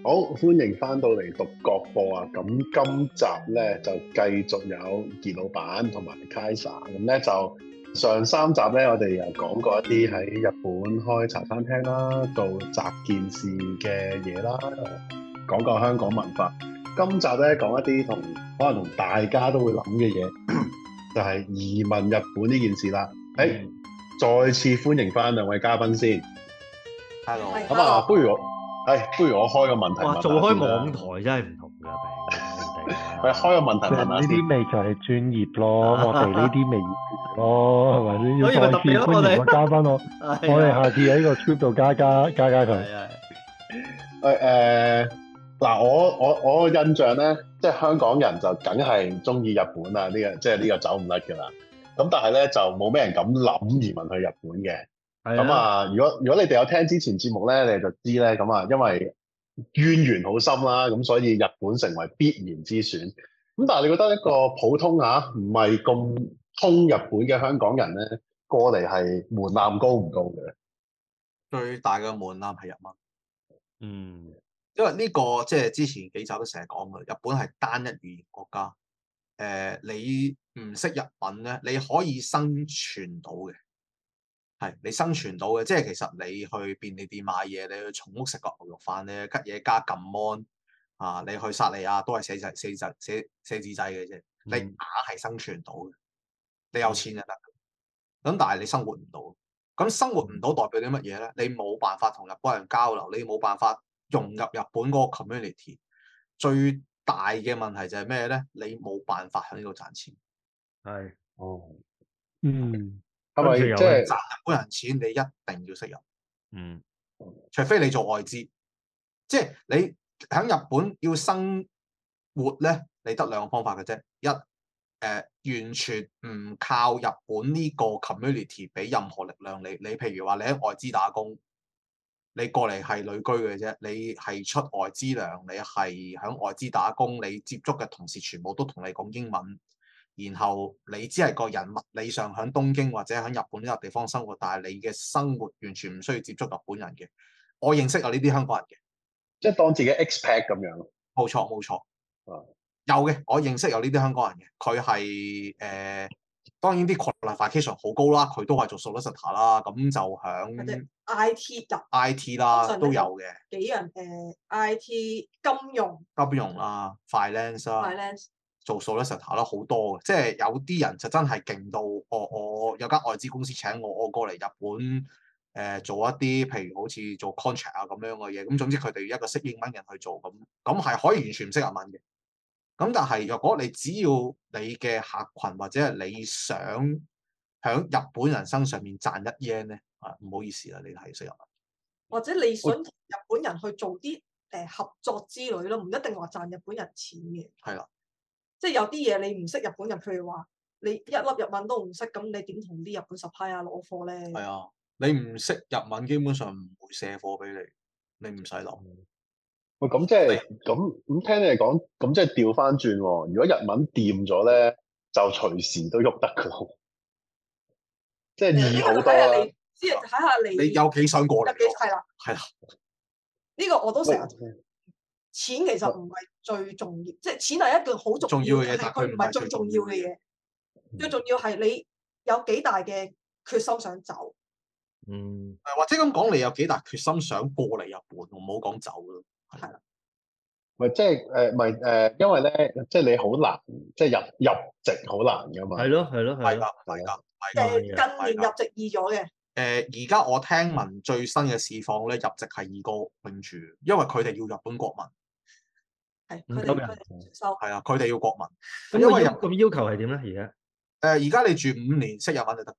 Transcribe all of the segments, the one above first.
好，歡迎翻到嚟獨角播啊！咁今集咧就繼續有傑老闆同埋 Kaisa，咁咧就上三集咧，我哋又講過一啲喺日本開茶餐廳啦，做雜件事嘅嘢啦，講過香港文化。今集咧講一啲可能同大家都會諗嘅嘢，就係移民日本呢件事啦。再次歡迎翻兩位嘉賓先。 Hello， 咁啊，不如我開個問題問下先啦。 做開網台真係唔同㗎， 係開個問題問下先。 呢啲咪就係專業咯，我哋呢啲咪業咯，係咪先？要再次歡迎個嘉賓我哋下次喺個 script 度加佢。 嗱，我印象咧，即係香港人就梗係中意日本啊，呢個走唔甩㗎啦。咁但係咧就冇咩人敢諗移民去日本嘅。咁啊，如果你哋有聽之前節目咧，你就知咧，咁啊，因為淵源好深啦，咁所以日本成為必然之選。咁但係你覺得一個普通唔係咁通日本嘅香港人咧，過嚟係門檻高唔高嘅？ 最大嘅門檻係日文。因為呢個即係之前幾集都成日講嘅，日本係單一語言國家。你唔識日文咧，你可以生存到嘅。係你生存到嘅，即係其實你去便利店買嘢，你去松屋食個牛肉飯咧，吉野家撳 mon 啊，你去薩莉亞都係寫字仔嘅啫，你硬係生存到嘅，你有錢就得。咁但係你生活唔到，咁生活唔到代表啲乜嘢咧？你冇辦法同日本人交流，你冇辦法融入日本嗰個 community。最大嘅問題就係咩咧？你冇辦法喺呢度賺錢。 係， 係咪即係賺日本人錢？你一定要識日，除非你做外資，即係你喺日本要生活咧，你得兩個方法嘅啫。完全唔靠日本呢個 community 俾任何力量你。你譬如話你喺外資打工，你過嚟係旅居嘅啫，你係出外資糧，你係喺外資打工，你接觸嘅同事全部都同你講英文。然後你只係個人物理上喺東京或者喺日本呢個地方生活，但係你嘅生活完全唔需要接觸日本人嘅。我認識有呢啲香港人嘅， 即係當自己 expat 咁樣。 冇錯。有嘅，我認識有呢啲香港人嘅。佢係當然啲 qualification 好高啦，佢都係做 solicitor 啦，咁就響 IT 啦都有嘅。 幾樣IT 金融啦 finance 啦。做 solicitor 啦，好多嘅，即係有啲人就真係勁到，我有間外資公司請我過嚟日本，做一啲譬如好似做 contract 啊咁樣嘅嘢，咁總之佢哋一個識英文人去做，咁係可以完全唔識日文嘅。咁但係若果你只要你嘅客群或者係你想喺日本人身上面賺一 yen 咧，唔好意思啦，你係識日文， 或者你想同日本人去做啲合作之類咯，唔一定話賺日本人錢嘅。 係啦。 即係有啲嘢你唔識日本人，譬如話你一粒日文都唔識，咁你點同啲日本 supplier 攞貨咧？ 係啊，你唔識日文，基本上唔會卸貨俾你，你唔使諗。 喂，咁即係咁聽你哋講，咁即係調翻轉喎。如果日文掂咗咧，就隨時都喐得噶咯。即係易好多啦。 即係睇下你有幾想過嚟？ 係啦。呢個我都成日。錢其實唔係最重要，即係錢係一個好重要嘅嘢，但係佢唔係最重要嘅嘢。最重要係你有幾大嘅決心想走。 或者咁講，你有幾大決心想過嚟日本，唔好講走咯。 係啦。 咪即係因為咧，即係你好難，即係入籍好難噶嘛。 係咯。 係㗎。 近年入籍易咗嘅。 而家我聽聞最新嘅市況咧，入籍係易過永住，因為佢哋要日本國民。 係佢哋收。係啊，佢哋要國民。 因為咁要求係點咧？而家你住5年識日文就得。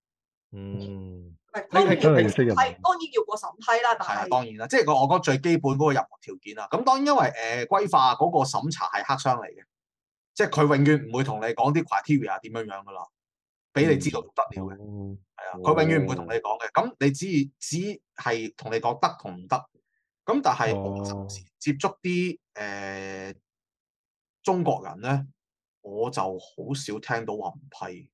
當然要過審批啦，但係當然啦，即係我覺得最基本嗰個入學條件啦。咁當然因為歸化嗰個審查係黑箱嚟嘅，即係佢永遠唔會同你講啲 criteria 點樣噶啦，俾你知道得了嘅。係啊，佢永遠唔會同你講嘅。咁你只係同你講得同唔得。咁但係我接觸啲中國人咧，我就好少聽到話唔批。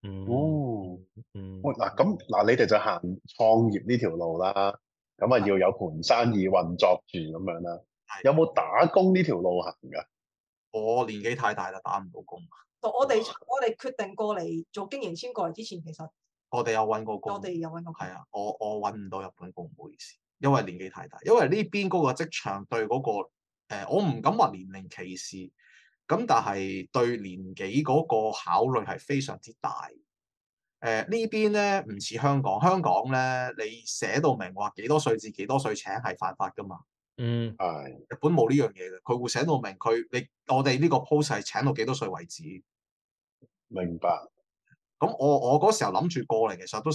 嗱，你哋就行創業呢條路啦，咁啊要有盤生意運作住咁樣啦。 有冇打工呢條路行㗎？ 我年紀太大啦，打唔到工。 我哋決定過嚟做經營簽過嚟之前，其實我哋有揾過工。 我哋有揾過工。 係啊，我揾唔到日本工，唔好意思，因為年紀太大。因為呢邊嗰個職場對嗰個我唔敢話年齡歧視，咁但係對年紀嗰個考慮係非常之大。呢邊咧唔似香港，香港咧你寫到明話幾多歲至幾多歲請係犯法㗎嘛。 係。 日本冇呢樣嘢嘅，佢會寫到明我哋呢個 post 係請到幾多歲為止。 明白。 咁我嗰時候諗住過嚟，其實都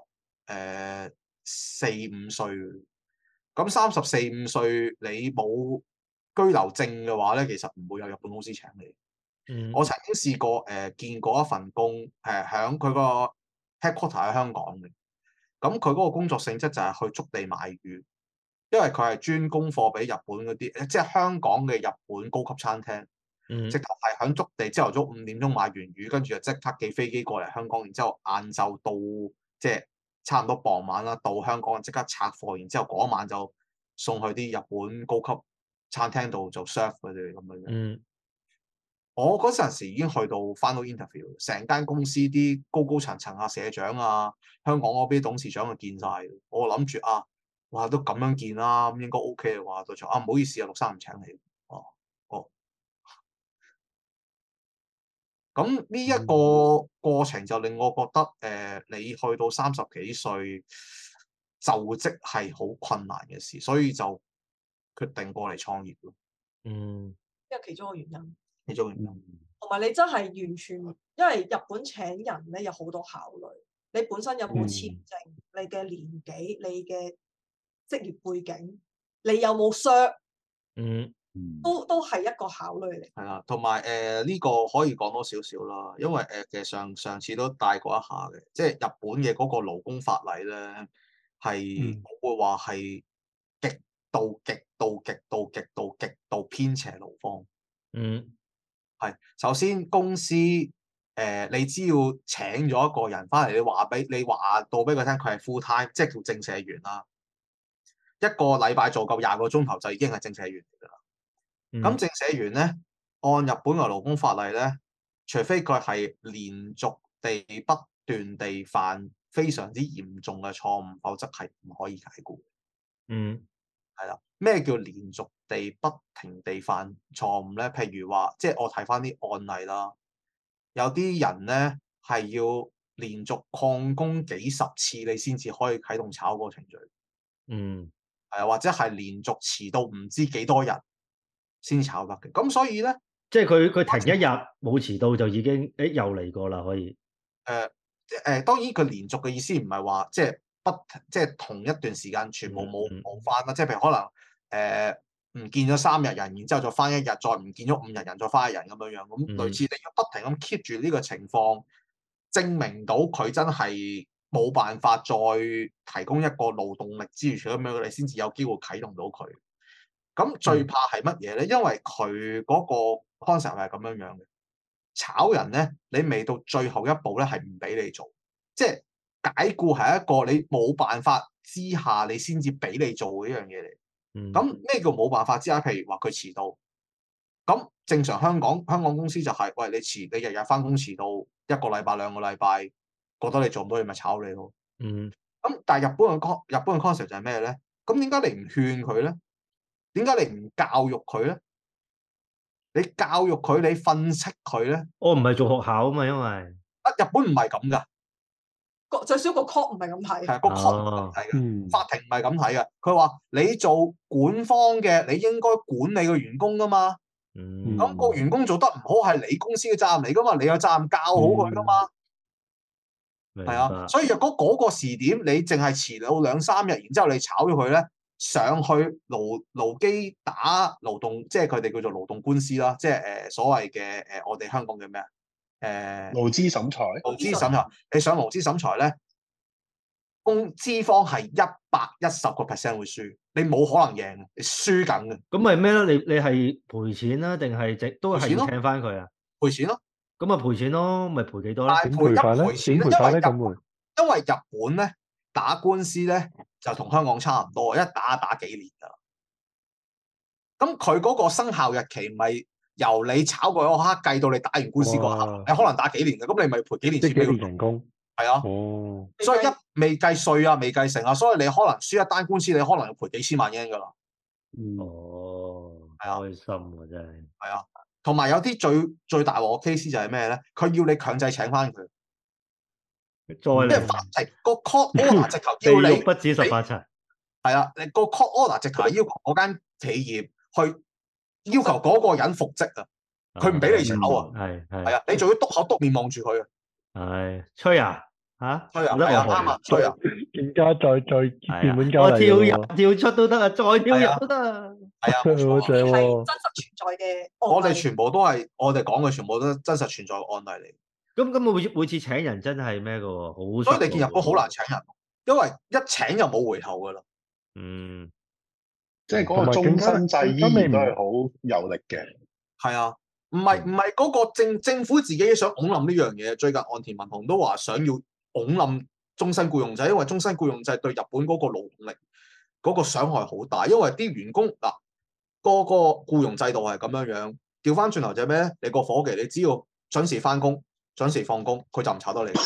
34、5歲。咁34、5歲你冇居留證嘅話咧，其實唔會有日本公司請你。我曾經試過見過一份工，響佢個 headquarter 喺香港嘅。咁佢嗰個工作性質就係去築地買魚，因為佢係專供貨俾日本嗰啲，即係香港嘅日本高級餐廳。直頭係響築地，朝頭早5點鐘買完魚，跟住就即刻寄飛機過嚟香港，然之後晏晝到即係差唔多傍晚啦，到香港即刻拆貨，然之後嗰晚就送去啲日本高級餐廳度做 serve 佢哋咁樣。我嗰陣時已經去到 final interview， 成間公司啲高層啊、社長啊、香港嗰邊董事長就見晒。我諗住哇都咁樣見啦，咁應該 OK 嘅話，到時唔好意思啊，6·3唔請你。咁呢一個過程就令我覺得，你去到30幾歲就職係好困難嘅事，所以就決定過嚟創業咯。 因為其中一個原因。 同埋你真係完全，因為日本請人咧有好多考慮，你本身有冇簽證，你嘅年紀，你嘅職業背景，你有冇 cert，都係一個考慮嚟。 係啦，同埋呢個可以講多少少啦，因為其實上次都帶過一下嘅，即係日本嘅嗰個勞工法例咧，係我會話係極度偏斜勞方。係首先公司你只要請咗一個人翻嚟，你話到俾佢聽，佢係 full time，即係叫正社員啦。一個禮拜做夠20個鐘頭就已經係正社員嚟㗎啦。咁正社員咧，按日本嘅勞工法例咧，除非佢係連續地不斷地犯非常之嚴重嘅錯誤，否則係唔可以解僱。係啦，咩叫連續地不停地犯錯誤咧？譬如話，即係我睇翻啲案例啦，有啲人咧係要連續曠工幾十次，你先至可以啟動炒嗰個程序。或者係連續遲到唔知幾多日先炒得嘅，咁所以咧， 即係佢停一日冇遲到就已經又嚟過啦，可以。 當然佢連續嘅意思唔係話即係同一段時間全部冇翻啦，即係譬如可能唔見咗3日人，然之後再翻1日，再唔見咗5日人，再翻1日咁樣，咁類似你要不停咁 keep 住呢個情況，證明到佢真係冇辦法再提供一個勞動力之餘，咁樣你先至有機會啟動到佢。咁最怕係乜嘢咧？因為佢嗰個 concept 係咁樣嘅，炒人咧，你未到最後一步咧，係唔俾你做，即係解僱係一個你冇辦法之下，你先至俾你做嘅一樣嘢嚟。咁咩叫冇辦法之下？譬如話佢遲到，咁正常香港公司就係，喂，你日日翻工遲到1個禮拜2個禮拜，覺得你做唔到，你咪炒你咯。咁但係日本嘅 concept 就係咩咧？咁點解你唔勸佢咧？點解你唔教育佢咧？你教育佢，你訓斥佢咧？ 我唔係做學校啊嘛，因為日本唔係咁噶， 最少個 court 唔係咁睇， 係個 court 唔係咁睇嘅，法庭唔係咁睇嘅。佢話你做管方嘅，你應該管理個員工噶嘛。咁個員工做得唔好係你公司嘅責任嚟噶嘛，你有責任教好佢噶嘛。係啊，所以若果嗰個時點你淨係遲到2-3日，然之後你炒咗佢咧，上去勞基打勞動，即係佢哋叫做勞動官司啦，即係所謂嘅我哋香港叫咩啊？ 勞資審裁。 勞資審裁，你上勞資審裁咧，資方係110% 會輸，你冇可能贏，你輸緊嘅。 咁咪咩咧？你係賠錢啦，定係都係要請翻佢啊？ 賠錢咯。 咁咪賠錢咯，咪賠幾多咧？ 點賠法咧？點賠法咧？咁因為日本咧打官司咧就同香港差唔多，一打幾年㗎啦。 咁佢嗰個生效日期唔係由你炒過嗰刻計到你打完官司嗰刻，你可能打幾年嘅，咁你咪賠幾年錢俾佢人工。 係啊，所以一未計稅啊，未計成啊，所以你可能輸一單官司，你可能要賠幾千萬日圓噶啦。 係啊，開心喎真係。 係啊，同埋有啲最大鑊嘅 case 就係咩咧？佢要你強制請翻佢，即係法庭個 court order 直頭要你不止18層。 係啊，你個 court order 直頭係要求嗰間企業去要求嗰個人復職啊，佢唔俾你炒啊，係啊，你仲要篤口篤面望住佢啊。 係吹啊嚇， 吹啊，係啊，啱啊，吹啊， 更加再變本加厲。 我跳入跳出都得啊，再跳入都得啊。 係啊， 係真實存在嘅。 我哋全部都係我哋講嘅，全部都真實存在嘅案例嚟。 咁每次請人真係咩嘅喎？好， 所以你見日本好難請人，因為一請就冇回頭㗎啦。 即係嗰個終身制依然都係好有力嘅。 係啊。唔係嗰個政府自己想拱冧呢樣嘢。最近岸田文雄都話想要拱冧終身僱傭制，因為終身僱傭制對日本嗰個勞動力嗰個傷害好大。因為啲員工嗱，個僱傭制度係咁樣，調翻轉頭就係咩咧？你個伙計你只要準時翻工、準時放工，佢就唔炒得你。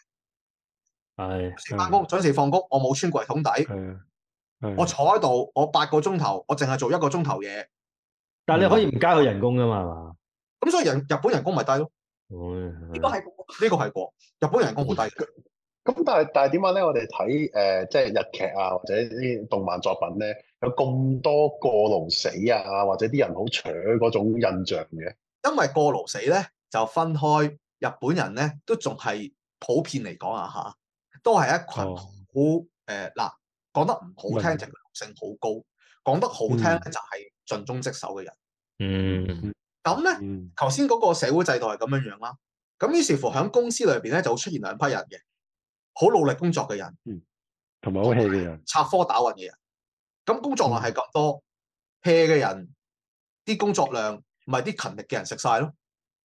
準時翻工、準時放工，我冇穿櫃桶底，我坐喺度，我8個鐘頭，我淨係做1個鐘頭嘢。 但係你可以唔加佢人工㗎嘛？係嘛？ 咁所以日本人工咪低咯？ 呢個係過， 日本人工好低。 咁但係點解咧？我哋睇即係日劇啊，或者啲動漫作品咧，有咁多過勞死啊，或者啲人好扯嗰種印象嘅。 因為過勞死咧就分開，日本人咧都仲係普遍嚟講啊嚇，都係一群好嗱，講得唔好聽就係勞性好高，講得好聽咧就係盡忠職守嘅人。咁咧，頭先嗰個社會制度係咁樣啦。咁於是乎喺公司裏邊咧就會出現兩批人嘅，好努力工作嘅人， 同埋好 hea 嘅人， 插科打諢嘅人。咁工作量係咁多，hea 嘅人啲工作量咪啲勤力嘅人食晒咯。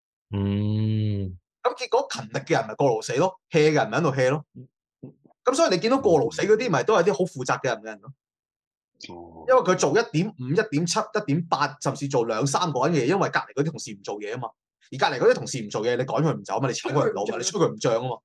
咁結果勤力嘅人咪過勞死咯，hea 嘅人咪喺度 hea 咯。咁所以你見到過勞死嗰啲咪都係啲好負責嘅人咯。因為佢做1.5、1.7、1.8，甚至做2、3個人嘅嘢，因為隔離嗰啲同事唔做嘢啊嘛。而隔離嗰啲同事唔做嘢，你趕佢唔走啊嘛，你炒佢唔到嘛，你吹佢唔漲啊嘛。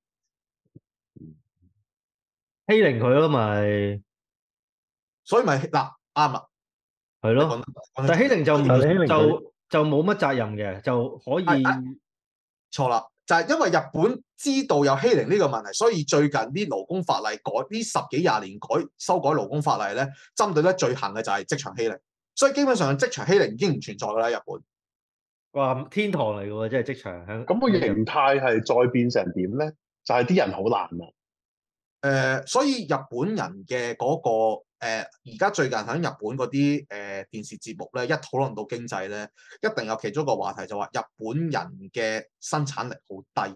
欺凌佢咯咪， 所以咪嗱啱啦， 係咯。但係欺凌就冇乜責任嘅，就可以錯啦。就係因為日本知道有欺凌呢個問題，所以最近啲勞工法例呢10幾20年修改勞工法例咧，針對得最行嘅就係職場欺凌。所以基本上職場欺凌已經唔存在㗎啦，日本。 哇，天堂嚟㗎喎，即係職場。 咁個形態係再變成點咧？就係啲人好難啊。 所以日本人嘅嗰個而家最近喺日本嗰啲電視節目咧，一討論到經濟咧，一定有其中一個話題就話日本人嘅生產力好低。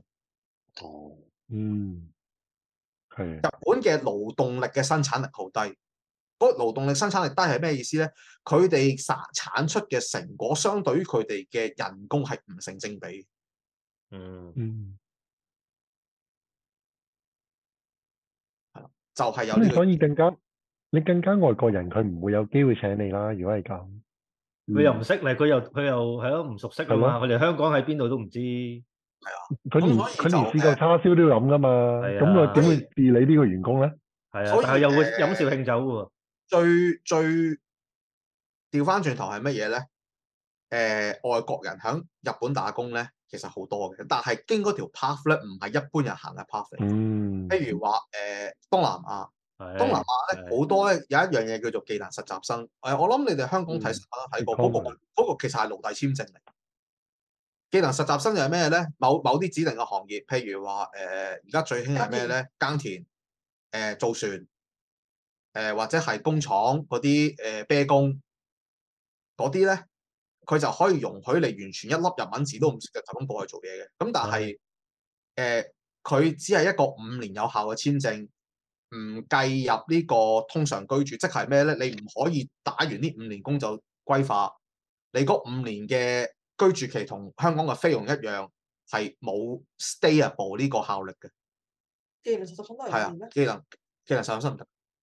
係。 日本嘅勞動力嘅生產力好低。嗰個勞動力生產力低係咩意思咧？佢哋產出嘅成果相對於佢哋嘅人工係唔成正比。就係有呢個。 所以你更加外國人佢唔會有機會請你啦。如果係咁， 佢又唔識你，佢又係咯，唔熟悉啊嘛。佢哋香港喺邊度都唔知。 係啊， 佢連試個叉燒都要諗噶嘛。咁佢點會治理呢個員工咧？ 係啊，但係又會飲紹興酒喎。 最調翻轉頭係乜嘢咧？外國人喺日本打工咧，其實好多嘅，但係經嗰條 path 咧，唔係一般人行嘅 path 嚟。譬如話東南亞咧好多咧有一樣嘢叫做技能實習生。我諗你哋香港睇新聞都睇過嗰個其實係奴隸簽證嚟。技能實習生就係咩咧？某啲指定嘅行業，譬如話而家最興係咩咧？耕田、造船。或者係工廠嗰啲啤工嗰啲咧，佢就可以容許你完全一粒日文字都唔識嘅就咁過去做嘢嘅。咁但係佢只係一個5年有效嘅簽證，唔計入呢個通常居住，即係咩咧？你唔可以打完呢5年工就歸化。你嗰5年嘅居住期同香港嘅菲傭一樣，係冇 stayable 呢個效力嘅。 技能實習生都係啊，技能實習生唔得。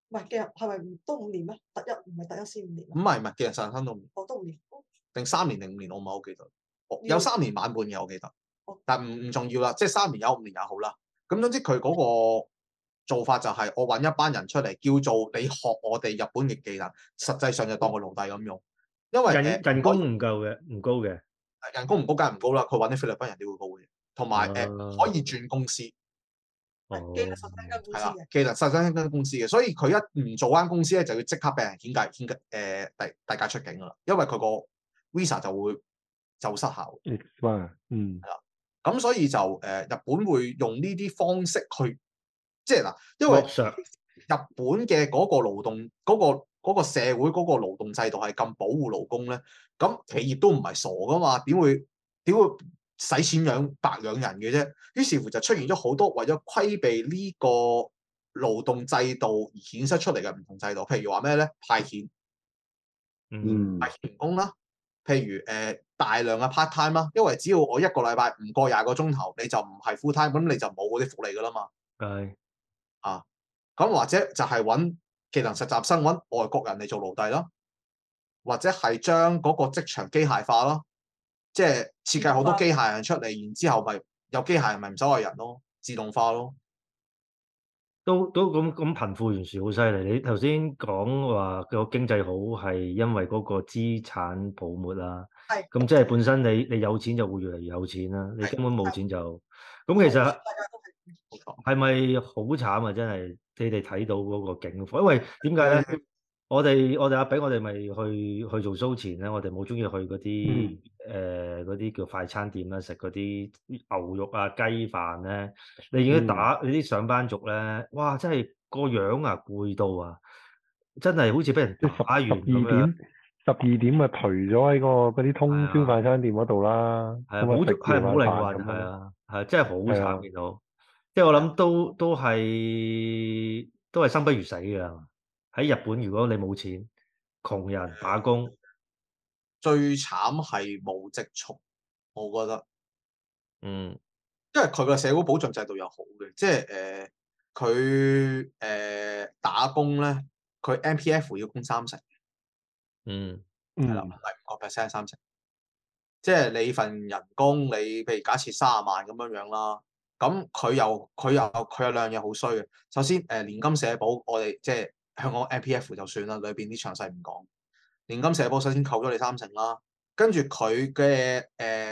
唔係嘅，係咪都5年咩？特一唔係特一先5年。 唔係嘅人實習生都5年。 都5年。 定3年定5年，我唔係好記得。有3年晚半嘅，我記得。但唔重要啦，即係3年有5年也好啦。咁總之佢嗰個做法就係我揾一班人出嚟，叫做你學我哋日本嘅技能，實際上就當個奴隸咁用。因為人工唔夠嘅，唔高嘅。 人工唔高梗係唔高啦，佢揾啲菲律賓人點會高嘅？同埋可以轉公司。 技能實習生公司嘅。 技能實習生公司嘅，所以佢一唔做間公司咧，就要即刻俾人遞解出境噶啦，因為佢個 visa 就會失效。係啦，咁所以就日本會用呢啲方式去，即係嗱，因為日本嘅嗰個勞動嗰個社會嗰個勞動制度係咁保護勞工咧，咁企業都唔係傻噶嘛，點會使錢白養人嘅啫？於是乎就出現咗好多為咗規避呢個勞動制度而衍生出嚟嘅唔同制度，譬如話咩咧？派遣，派遣員工啦，譬如大量嘅 part time 啦，因為只要我一個禮拜唔過20個鐘頭，你就唔係 full time，咁你就冇嗰啲福利噶啦嘛。係啊，咁或者就係揾技能實習生，揾外國人嚟做奴隸啦，或者係將嗰個職場機械化咯。即係設計好多機械人出嚟，然之後咪有機械人咪唔使外人咯，自動化咯。 都咁貧富懸殊好犀利。你頭先講話個經濟好係因為嗰個資產泡沫啦。係。咁即係本身你有錢就會越嚟越有錢啦。你根本冇錢就咁，其實係咪好慘啊？真係你哋睇到嗰個境況，因為點解咧？我哋阿炳，我哋咪去做 show 前咧，我哋冇中意去嗰啲嗰啲叫快餐店啦，食嗰啲牛肉啊雞飯咧。你見到你啲上班族咧，哇！真係個樣啊攰到啊，真係好似俾人打完咁樣。 12點咪頹咗喺嗰啲通宵快餐店嗰度啦。係冇靈魂，係啊，係真係好慘見到。即係我諗都係生不如死㗎。喺日本，如果你冇錢，窮人打工， 最慘係冇積蓄，我覺得，因為佢個社會保障制度又好嘅，即係佢打工咧，佢 MPF 要供30%，係啦，唔係5%，30%，即係你份人工，你譬如假設30萬咁樣啦，咁佢有兩樣嘢好衰嘅，首先年金社保，我哋即係。香港 MPF 就算啦，裏邊啲詳細唔講。年金社保首先扣咗你30%啦，跟住佢嘅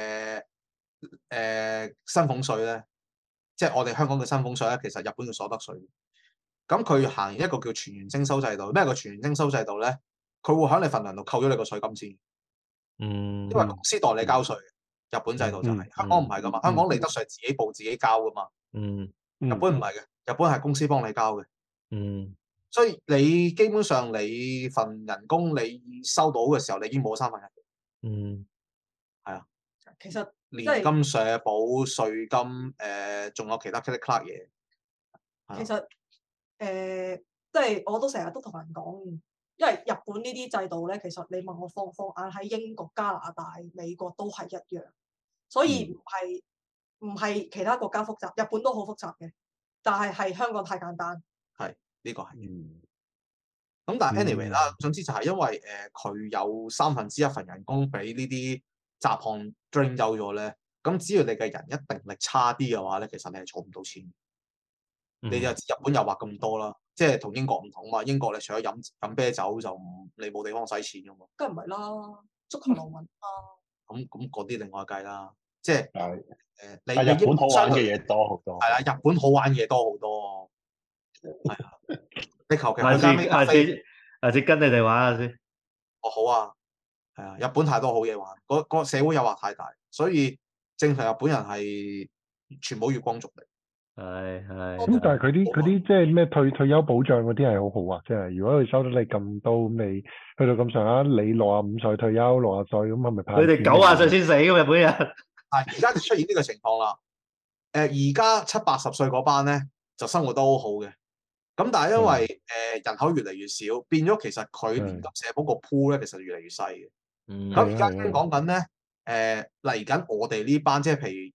薪俸稅咧，即係我哋香港嘅薪俸稅咧，其實日本嘅所得稅。咁佢行一個叫全員徵收制度，咩叫全員徵收制度咧？佢會喺你份糧度扣咗你個稅金先。因為公司代你交稅，日本制度就係。香港唔係噶嘛，香港利得稅自己報自己交噶嘛。日本唔係嘅，日本係公司幫你交嘅。所以你基本上你份人工你收到嘅時候，你已經冇咗1/3。係啊。 其實年金、社保、稅金，仲有其他 click clack 嘢。 其實即係我都成日都同人講，因為日本呢啲制度咧，其實你問我放眼喺英國、加拿大、美國都係一樣，所以唔係其他國家複雜，日本都好複雜嘅，但係香港太簡單。 係。呢個係，咁但係 anyway 啦，總之就係因為佢有1/3份人工俾呢啲雜項 drain 走咗咧，咁只要你嘅人一定力差啲嘅話咧，其實你係儲唔到錢。你就知日本誘惑咁多啦，即係同英國唔同嘛。英國你除咗飲啤酒就你冇地方使錢噶嘛。 梗係唔係啦，足球流民啊。咁嗰啲另外計啦，即係你日本好玩嘅嘢多好多。 係啦，日本好玩嘅嘢多好多。係啊，你求其下次跟你哋玩下先。 哦，好啊，係啊，日本太多好嘢玩，個社會誘惑太大，所以正常日本人係全部月光族嚟。係。 咁但係佢啲即係咩退休保障嗰啲係好好啊，即係如果佢收得你咁多，你去到咁上下，你65歲退休，60歲咁係咪派？ 佢哋90歲先死㗎，日本人。 而家就出現呢個情況啦。而家70、80歲嗰班咧就生活都好好嘅。咁但係因為人口越嚟越少，變咗其實佢年金社保個 pool 咧，其實越嚟越細嘅。咁而家講緊咧，嚟緊我哋呢班，即係譬如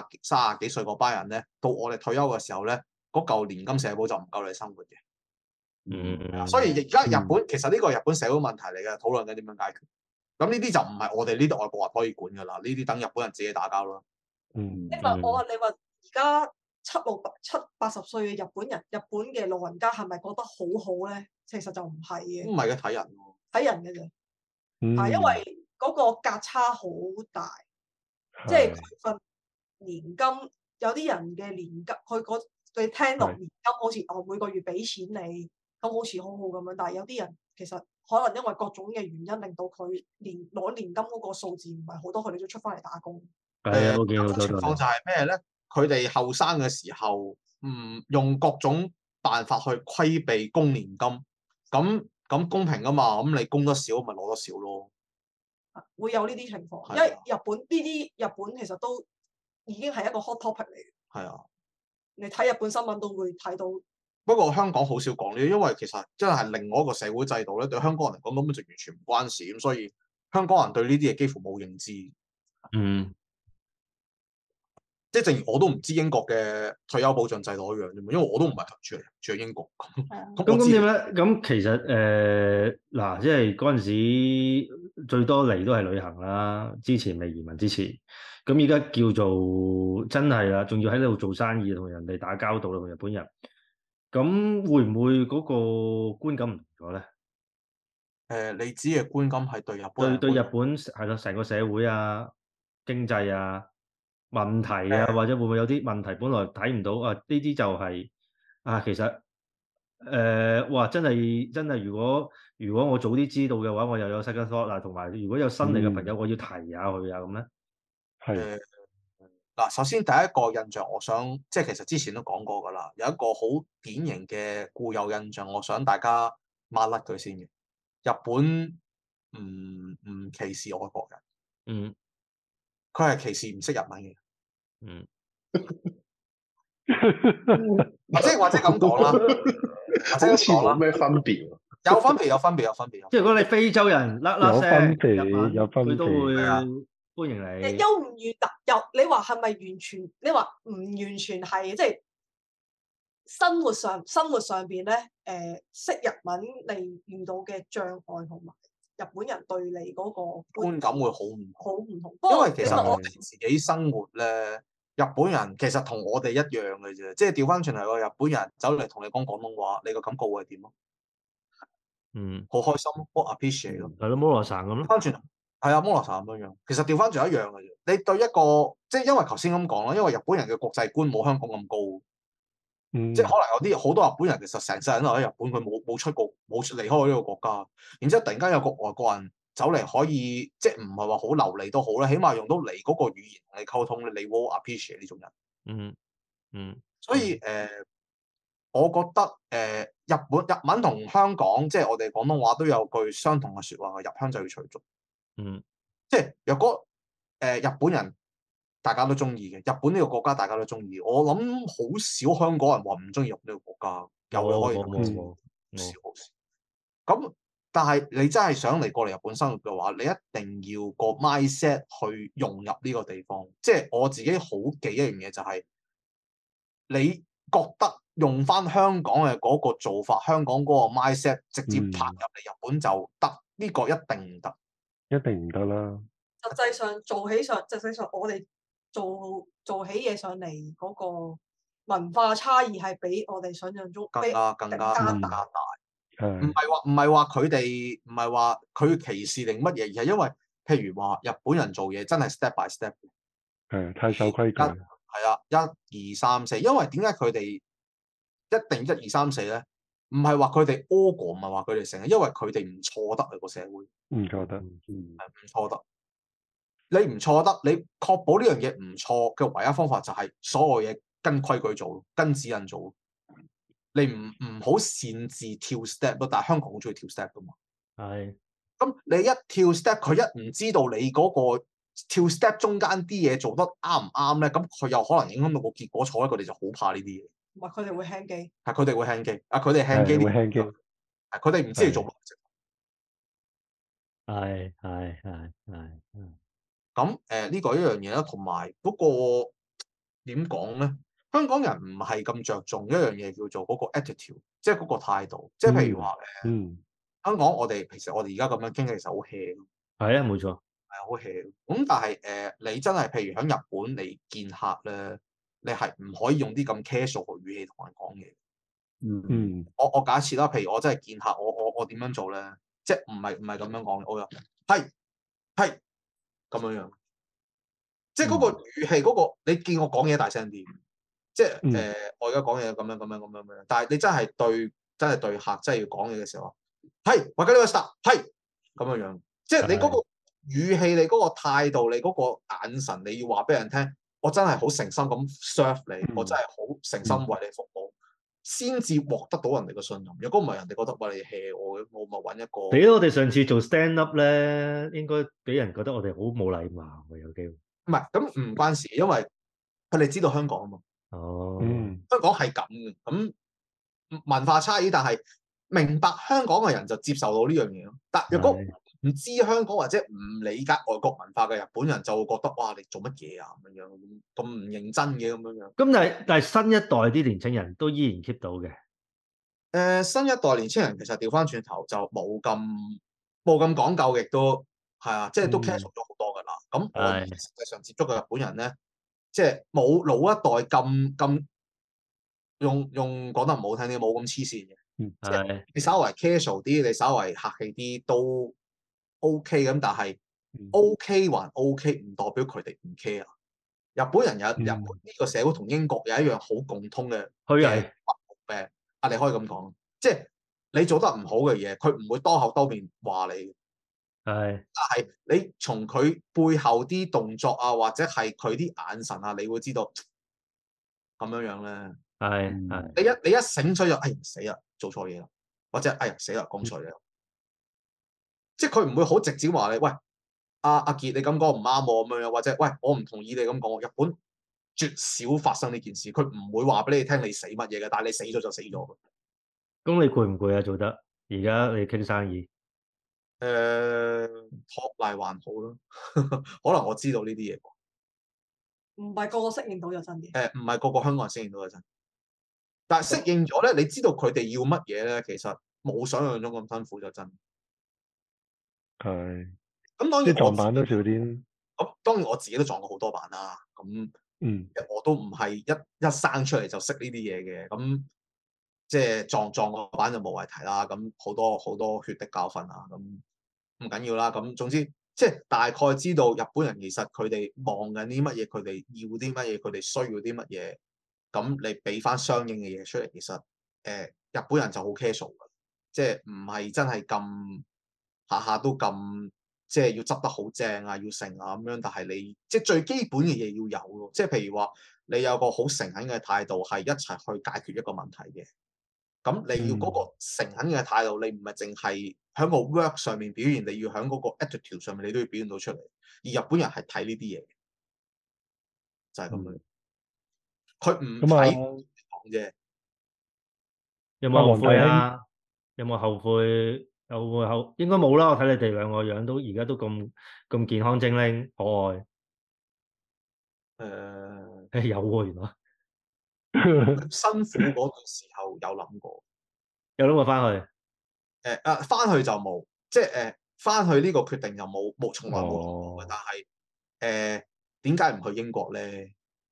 30幾歲嗰班人咧，到我哋退休嘅時候咧，嗰嚿年金社保就唔夠你生活嘅。 所以而家日本其實呢個係日本社會問題嚟嘅，討論緊點樣解決。咁呢啲就唔係我哋呢啲外國人可以管㗎啦，呢啲等日本人自己打交咯。 因為你話而家七八十歲嘅日本人，日本嘅老人家係咪覺得好好咧？其實就唔係嘅。唔係嘅，睇人喎，睇人嘅啫。係因為嗰個價差好大，即係佢份年金，有啲人嘅年金，佢聽落年金好似我每個月俾錢你，咁好似好好咁樣。但係有啲人其實可能因為各種嘅原因，令到佢攞年金嗰個數字唔係好多，佢哋都出翻嚟打工。 有種情況就係咩咧？佢哋後生嘅時候，用各種辦法去規避供年金，咁公平噶嘛？咁你供得少，咪攞得少咯。會有呢啲情況，因為日本其實都已經係一個 hot topic 嚟嘅。係啊，你睇日本新聞都會睇到。不過香港好少講呢啲，因為其實真係另外一個社會制度咧，對香港人嚟講根本就完全唔關事，咁所以香港人對呢啲嘢幾乎冇認知。即係正如我都唔知英國嘅退休保障制度一樣啫嘛，因為我都唔係住喺英國。咁點咧？ 咁其實嗱，即係嗰陣時最多嚟都係旅行啦。之前未移民之前，咁而家叫做真係啦，仲要喺度做生意，同人哋打交道啦，同日本人。咁會唔會嗰個觀感唔同咗咧？ 你指嘅觀感係對日本對日本係咯，成個社會啊、經濟啊。問題啊，或者會唔會有啲問題本來睇唔到啊？呢啲就係其實哇，真係如果我早啲知道嘅話，我又有 second thought 啦，同埋如果有新嚟嘅朋友，我要提下佢啊，咁咧。 係嗱，首先第一個印象，我想即係其實之前都講過㗎啦，有一個好典型嘅固有印象，我想大家抹甩佢先嘅。日本唔歧視外國人。佢係歧視唔識日文嘅。或者咁講啦， 好似冇咩分別。 有分別。 即係如果你非洲人甩聲日文，佢都會歡迎你。 優唔越特又，你話係咪完全？你話唔完全係，即係生活上邊咧，識日文你遇到嘅障礙同埋日本人對你嗰個觀感會好唔同。因為其實我哋自己生活咧，日本人其實同我哋一樣嘅啫，即係調翻轉嚟個日本人走嚟同你講廣東話，你個感覺會係點咯？好開心咯，好 appreciate 咯。 係咯，摩羅薩咁咯。 翻轉係啊，摩羅薩咁樣。其實調翻轉一樣嘅啫。你對一個即係因為頭先咁講啦，因為日本人嘅國際觀冇香港咁高。即係可能有啲好多日本人其實成世人都喺日本，佢冇出過冇離開過呢個國家。然之後突然間有個外國人走嚟，可以即係唔係話好流利都好啦，起碼用到你嗰個語言同你溝通咧，你會 appreciate 呢種人。所以我覺得日文同香港即係我哋廣東話都有句相同嘅説話，入鄉就要隨俗。即係若果日本人大家都中意嘅，日本呢個國家大家都中意，我諗好少香港人話唔中意日本呢個國家。有嘅可以好少。咁但係你真係想嚟過嚟日本生活嘅話，你一定要個 mindset 去融入呢個地方。即係我自己好記一樣嘢就係，你覺得用翻香港嘅嗰個做法，香港嗰個 mindset 直接拍入嚟日本就得？呢個一定唔得， 一定唔得啦。 實際上我哋做起嘢上嚟嗰個文化差異係比我哋想象中更加大。 唔係話佢哋唔係話佢歧視定乜嘢，而係因為譬如話日本人做嘢真係 step by step 嘅， 太守規矩。 係啊，1、2、3、4，因為點解佢哋一定1、2、3、4咧？唔係話佢哋 org， 唔係話佢哋成日，因為佢哋唔錯得啊個社會， 唔錯得， 唔錯得。你唔錯得，你確保呢樣嘢唔錯嘅唯一方法就係所有嘢跟規矩做，跟指引做。你唔好擅自跳 step 咯，但係香港好中意跳 step 噶嘛。 係。 咁你一跳 step，佢一唔知道你嗰個跳 step 中間啲嘢做得啱唔啱咧，咁佢又可能影響到個結果錯咧，佢哋就好怕呢啲嘢。 唔係佢哋會輕機。係佢哋會輕機。佢哋輕機。 會輕機。 佢哋唔知你做乜。 係。 咁呢個一樣嘢啦，同埋嗰個點講咧？ 香港人唔係咁着重一樣嘢叫做嗰個 attitude，即係嗰個態度。即係譬如話香港我哋平時我哋而家咁樣傾，其實好 hea。 係啊，冇錯， 係好 hea。咁但係你真係譬如喺日本你見客咧，你係唔可以用啲咁 casual 嘅語氣同人講嘢。我假設啦，譬如我真係見客，我點樣做咧？即係唔係咁樣講嘅，我話係咁樣。即係嗰個語氣，嗰個你見我講嘢大聲啲，即係我而家講嘢咁樣，但係你真係對客真係要講嘢嘅時候，係或者呢個 stop 係咁樣，即係你嗰個語氣、你嗰個態度、你嗰個眼神，你要話俾人聽，我真係好誠心咁 serve 你，我真係好誠心為你服務，先至獲得到人哋嘅信任。如果唔係，人哋覺得喂，你 hea 我咪揾一個。俾我哋上次做 stand up 咧，應該俾人覺得我哋好冇禮貌嘅，有機會。唔係，咁唔關事，因為佢哋知道香港啊嘛。香港係咁嘅，咁文化差異，但係明白香港嘅人就接受到呢樣嘢咯。但如果唔知香港或者唔理解外國文化嘅日本人，就會覺得哇，你做乜嘢啊咁樣，咁唔認真嘅咁樣。 咁但係新一代啲年青人都依然 keep 到嘅。 新一代年青人其實調翻轉頭就冇咁講究，亦都係啊，即係都 casual 咗好多㗎啦。咁我實際上接觸嘅日本人咧，即係冇老一代咁用講得唔好聽啲，冇咁黐線嘅。即係你稍為 casual 啲，你稍為客氣啲都 OK 咁，但係 OK 還 OK，唔代表佢哋唔 care。日本人日本呢個社會同英國有一樣好共通嘅病啊，你可以咁講，即係你做得唔好嘅嘢，佢唔會當口兜面話你。但係你從佢背後啲動作啊，或者係佢啲眼神啊，你會知道咁樣咧。你一醒水就死啦，做錯嘢啦，或者死啦，講錯嘢。即係佢唔會好直接話你，喂阿傑你咁講唔啱我咁樣，或者喂我唔同意你咁講。日本絕少發生呢件事，佢唔會話俾你聽你死乜嘢嘅，但係你死咗就死咗。 咁你攰唔攰啊？做得而家你傾生意？ 托賴還好咯，可能我知道呢啲嘢。 唔係個個適應到就真嘅。 唔係個個香港人適應到就真。但係適應咗咧，你知道佢哋要乜嘢咧，其實冇想象中咁辛苦就真。 係。 咁當然撞板都少啲。 咁當然我自己都撞過好多板啦。咁我都唔係一生出嚟就識呢啲嘢嘅。咁即係撞個板就無謂提啦。咁好多血的教訓啊。咁唔緊要啦。咁總之即係大概知道日本人其實佢哋望緊啲乜嘢，佢哋要啲乜嘢，佢哋需要啲乜嘢。咁你俾翻相應嘅嘢出嚟，其實日本人就好 casual 嘅，即係唔係真係咁下下都咁即係要執得好正啊，要成啊咁樣。但係你即係最基本嘅嘢要有咯。即係譬如話你有個好誠懇嘅態度，係一齊去解決一個問題嘅。咁你要嗰個誠懇嘅態度，你唔係淨係喺個 work 上面表現，你要喺嗰個 attitude 上面，你都要表現到出嚟。而日本人係睇呢啲嘢，就係咁樣。佢唔睇講啫。 有冇後悔啊？有冇後悔？應該冇啦。我睇你哋兩個樣都而家都咁健康精靈可愛。有喎，原來。 辛苦嗰段時候有諗過。 有諗過翻去？ 翻去就冇，即係翻去呢個決定就冇，從來冇諗過嘅。但係點解唔去英國咧？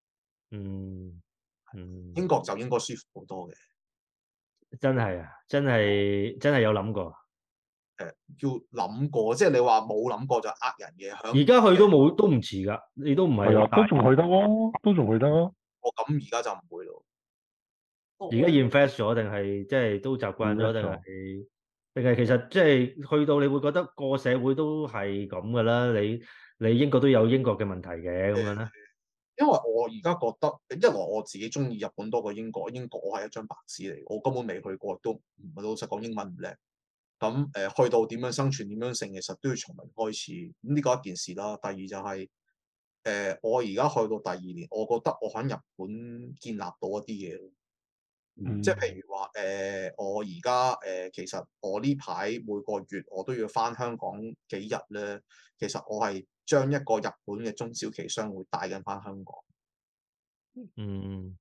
英國就應該舒服好多嘅。 真係啊！真係有諗過。 要諗過，即係你話冇諗過就人嘅。 而家去都唔遲㗎，你都唔係都仲去得咯，都仲去得咯。 咁而家就唔會咯。 而家 invest 咗定係即係都習慣咗定係其實即係去到你會覺得個社會都係咁㗎啦。你英國都有英國嘅問題嘅咁樣咧。 因為我而家覺得，一來我自己中意日本多過英國。英國我係一張白紙嚟，我根本未去過，都唔係老實講英文唔叻。咁去到點樣生存點樣成，其實都要從零開始。咁呢個一件事啦。第二就係我而家去到第二年，我覺得我喺日本建立到一啲嘢。即係譬如話我而家其實我呢排每個月我都要返香港幾日咧。其實我係將一個日本嘅中小企商會帶緊返香港。係啊，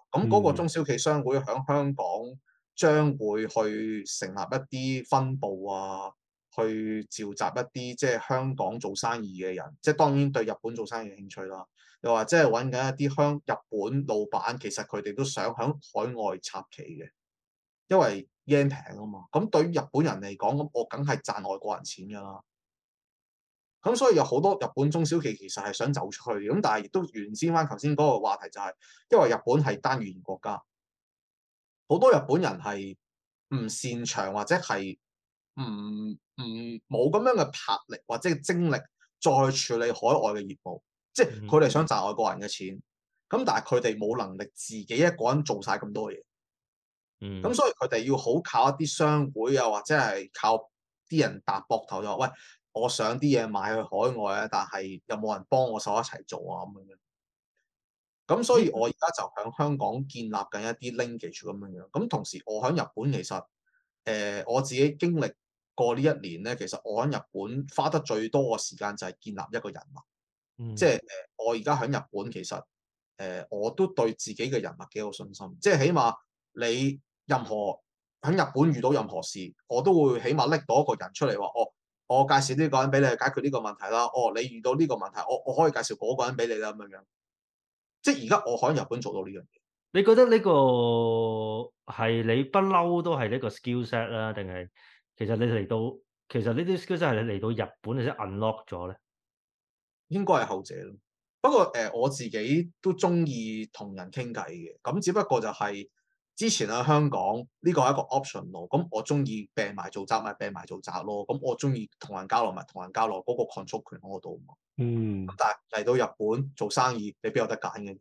咁嗰個中小企商會喺香港將會去成立一啲分部啊，去召集一啲即係香港做生意嘅人，即係當然對日本做生意嘅興趣啦。又或者係揾緊一啲日本老闆，其實佢哋都想喺海外插旗嘅，因為 yen 平啊嘛。咁對於日本人嚟講，咁我梗係賺外國人錢㗎啦。咁所以有好多日本中小企其實係想走出去，咁但係亦都沿先翻頭先嗰個話題，就係因為日本係單語言國家，好多日本人係唔擅長或者係唔冇咁樣嘅魄力或者精力再處理海外嘅業務。即係佢哋想賺外國人嘅錢，咁但係佢哋冇能力自己一個人做晒咁多嘢，咁所以佢哋要好靠一啲商會啊，或者係靠啲人搭膊頭就話：喂，我想啲嘢賣去海外啊，但係有冇人幫我手一齊做啊？咁樣。咁所以我而家就喺香港建立緊一啲 linkage 咁樣。咁同時我喺日本其實我自己經歷過呢一年咧，其實我喺日本花得最多嘅時間就係建立一個人脈。即係我而家喺日本，其實我都對自己嘅人脈幾有信心。即係起碼你任何喺日本遇到任何事，我都會起碼拎到一個人出嚟話：哦，我介紹呢個人俾你去解決呢個問題啦。哦，你遇到呢個問題，我可以介紹嗰個人俾你啦，咁樣。即係而家我喺日本做到呢樣嘢。 你覺得呢個係你不嬲都係呢個 skill set 啦，定係其實你嚟到其實呢啲 skill set 係你嚟到日本你先 unlock 咗咧？ 應該係後者咯。不過我自己都中意同人傾偈嘅，咁只不過就係之前喺香港呢個係一個 option 咯。咁我中意病埋做宅咪病埋做宅咯。咁我中意同人交流咪同人交流，嗰個 control 權喺我度嘛。咁但係嚟到日本做生意，你邊有得揀嘅？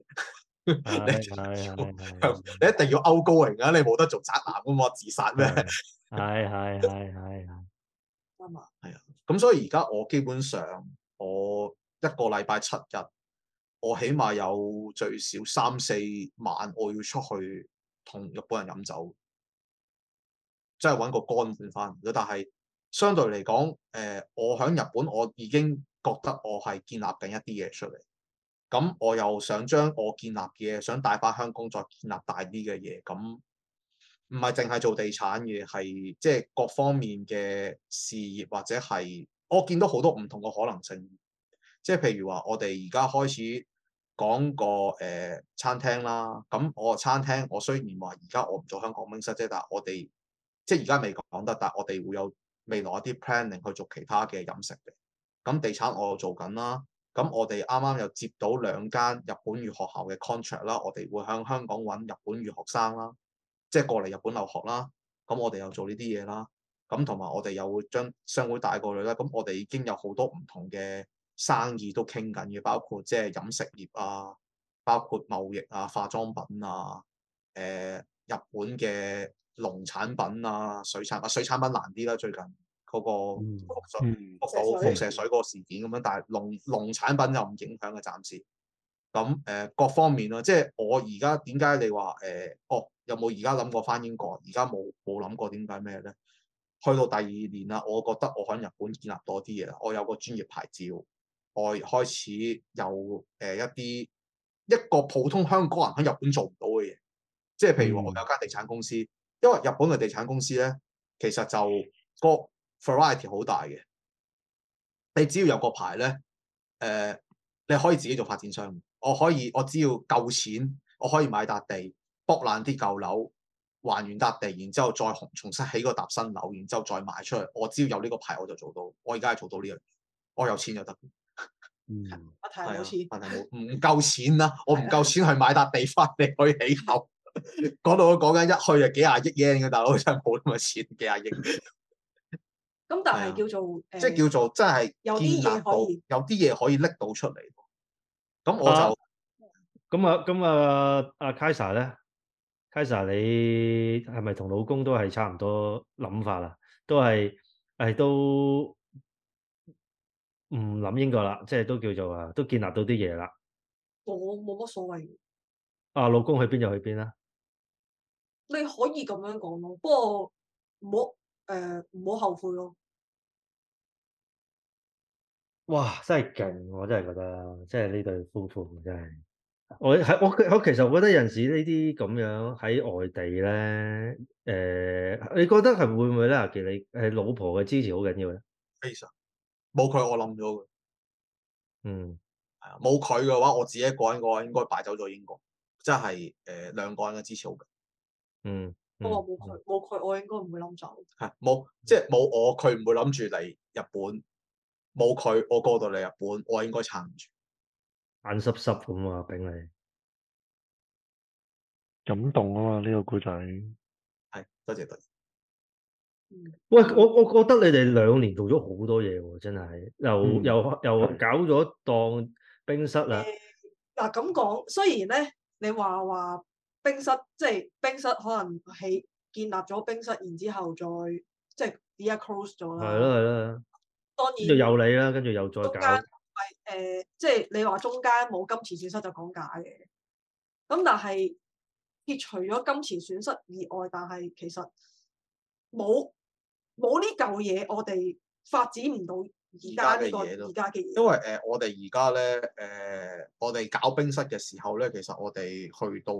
你一定要outgoing啊！你冇得做宅男㗎嘛，自殺咩？ 係。 啱啊，係啊。咁所以而家我基本上我一個禮拜7日，我起碼有最少3-4晚我要出去同日本人飲酒，即係揾個乾換翻。但係相對嚟講，我喺日本我已經覺得我係建立緊一啲嘢出嚟。咁我又想將我建立嘅嘢想帶翻香港，再建立大啲嘅嘢。咁唔係淨係做地產嘅，係即係各方面嘅事業，或者係我見到好多唔同嘅可能性。即係譬如話，我哋而家開始講個餐廳啦。咁我個餐廳，我雖然話而家我唔做香港冰室啫，但係我哋即係而家未講得，但係我哋會有未來一啲 planning 去做其他嘅飲食嘅。咁地產我又做緊啦。咁我哋啱啱又接到2間日本語學校嘅 contract 啦，我哋會喺香港揾日本語學生啦，即係過嚟日本留學啦。咁我哋又做呢啲嘢啦。咁同埋我哋又會將商會帶過嚟啦。咁我哋已經有好多唔同嘅生意都傾緊嘅，包括即係飲食業啊，包括貿易啊、化妝品啊、日本嘅農產品啊、水產品難啲啦，最近。嗰個輻射水嗰個事件咁樣，但係農產品又唔影響嘅暫時。咁各方面咯，即係我而家點解你話有冇而家諗過返英國？而家冇諗過，點解咩咧？去到第2年啦，我覺得我喺日本建立多啲嘢啦。我有個專業牌照，我開始有一個普通香港人喺日本做唔到嘅嘢，即係譬如話我有間地產公司，因為日本嘅地產公司咧，其實就個 variety 好大嘅，你只要有個牌咧，你可以自己做發展商。我只要夠錢，我可以買笪地，剝爛啲舊樓，還原笪地，然之後再重新起個搭新樓，然之後再賣出去。我只要有呢個牌，我就做到。我而家係做到呢樣嘢，我有錢就得。 我睇冇錢， 問題冇唔夠錢啦，我唔夠錢去買笪地翻嚟去起樓。講到我講緊一去就幾廿億 yen 嘅大佬，真係冇咁嘅錢，幾廿億。 咁但係叫做即係叫做真係有啲嘢可以， 有啲嘢可以拎到出嚟。咁我就阿 Kaisa 咧，Kaisa 你係咪同老公都係差唔多諗法啊？都係都唔諗英國啦，即係都叫做都建立到啲嘢啦。 我冇乜所謂。 老公去邊就去邊啦。 你可以咁樣講咯，不過唔好後悔咯。 哇！真係勁，我真係覺得，即係呢對夫婦真係。 我其實我覺得有陣時呢啲咁樣喺外地咧，你覺得係會唔會咧？阿傑，你係老婆嘅支持好緊要咧？ 非常冇佢，我諗咗嘅。 嗯， 係啊，冇佢嘅話，我自己一個人嘅話，應該擺走咗英國。即係兩個人嘅支持好緊。 嗯。 我話冇佢，我應該唔會諗走。 係冇，即係冇我，佢唔會諗住嚟日本。冇佢，我過到嚟日本，我應該撐唔住。 眼濕濕咁啊，炳你感動啊嘛，呢個故仔。 係，多謝多謝。 喂，我覺得你哋2年做咗好多嘢喎，真係又搞咗檔冰室啦。 嗱咁講，雖然咧你話冰室，即係冰室可能建立咗冰室，然之後再即係而家 close 咗啦。係啦。 當然。 跟住有你啦，跟住又再搞。 中間即係你話中間冇金錢損失就講假嘅。咁但係撇除咗金錢損失以外，但係其實冇呢嚿嘢，我哋發展唔到而家呢個而家嘅嘢。 因為我哋而家咧我哋搞冰室嘅時候咧，其實我哋去到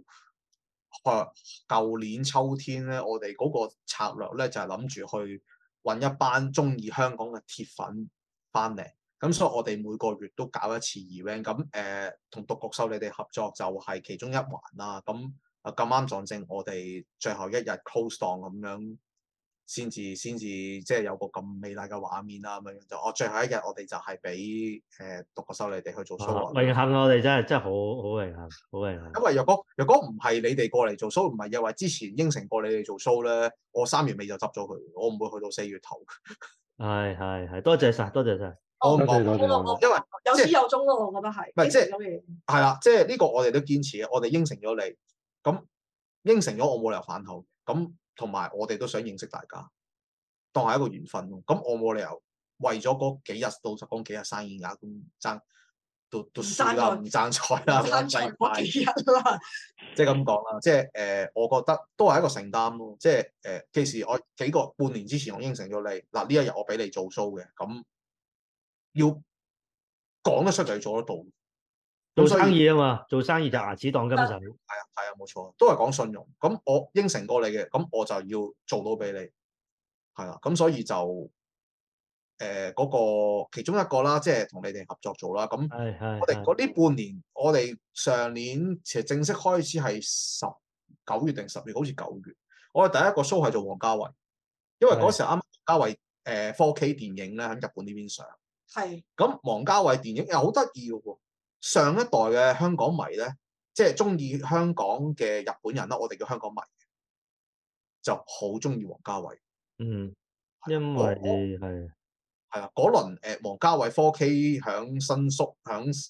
舊年秋天咧，我哋嗰個策略咧就係諗住去揾一班中意香港嘅鐵粉翻嚟。咁所以我哋每個月都搞一次 event。咁同獨角獸你哋合作就係其中一環啦。咁咁啱撞正我哋最後一日 close 檔咁樣。先至即係有個咁美麗嘅畫面啦，咁樣就最後一日我哋就係俾獨角獸你哋去做 show。 榮幸我哋真係好榮幸，好榮幸。 因為若果唔係你哋過嚟做 show，唔係又話之前應承過你哋做 show 咧，我3月尾就執咗佢，我唔會去到4月頭。 係，多謝晒，多謝晒。 多謝。因為有始有終咯，我覺得係。 唔係即係係啦，即係呢個我哋都堅持嘅，我哋應承咗你，咁應承咗我冇理由反口，咁。同埋我哋都想認識大家，當係一個緣分咯。咁我冇理由為咗嗰幾日，老實講幾日生意額咁爭，都輸啦，唔爭菜啦， 爭菜嗰幾日啦。 即係咁講啦，即係我覺得都係一個承擔咯。即係其實我半年之前我應承咗你，嗱呢一日我俾你做 show 嘅，咁要講得出就要做得到。 做生意啊嘛，做生意就牙齒當金使。係啊，冇錯，都係講信用。咁我應承過你嘅，咁我就要做到俾你。係啦，咁所以就嗰個其中一個啦，即係同你哋合作做啦。咁我哋嗰呢半年，我哋上年其實正式開始係9月定10月，好似9月。我哋第一個 show 係做王家衛，因為嗰時啱啱王家衛4K 電影咧喺日本呢邊上。 係。咁王家衛電影又好得意嘅喎。上一代嘅香港迷咧，即係中意香港嘅日本人啦，我哋叫香港迷，就好中意王家衛。 因為係啊，嗰輪王家衛 4K 響新宿響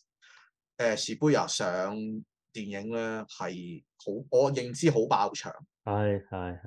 Shibuya上電影咧係好，我認知好爆場。 係。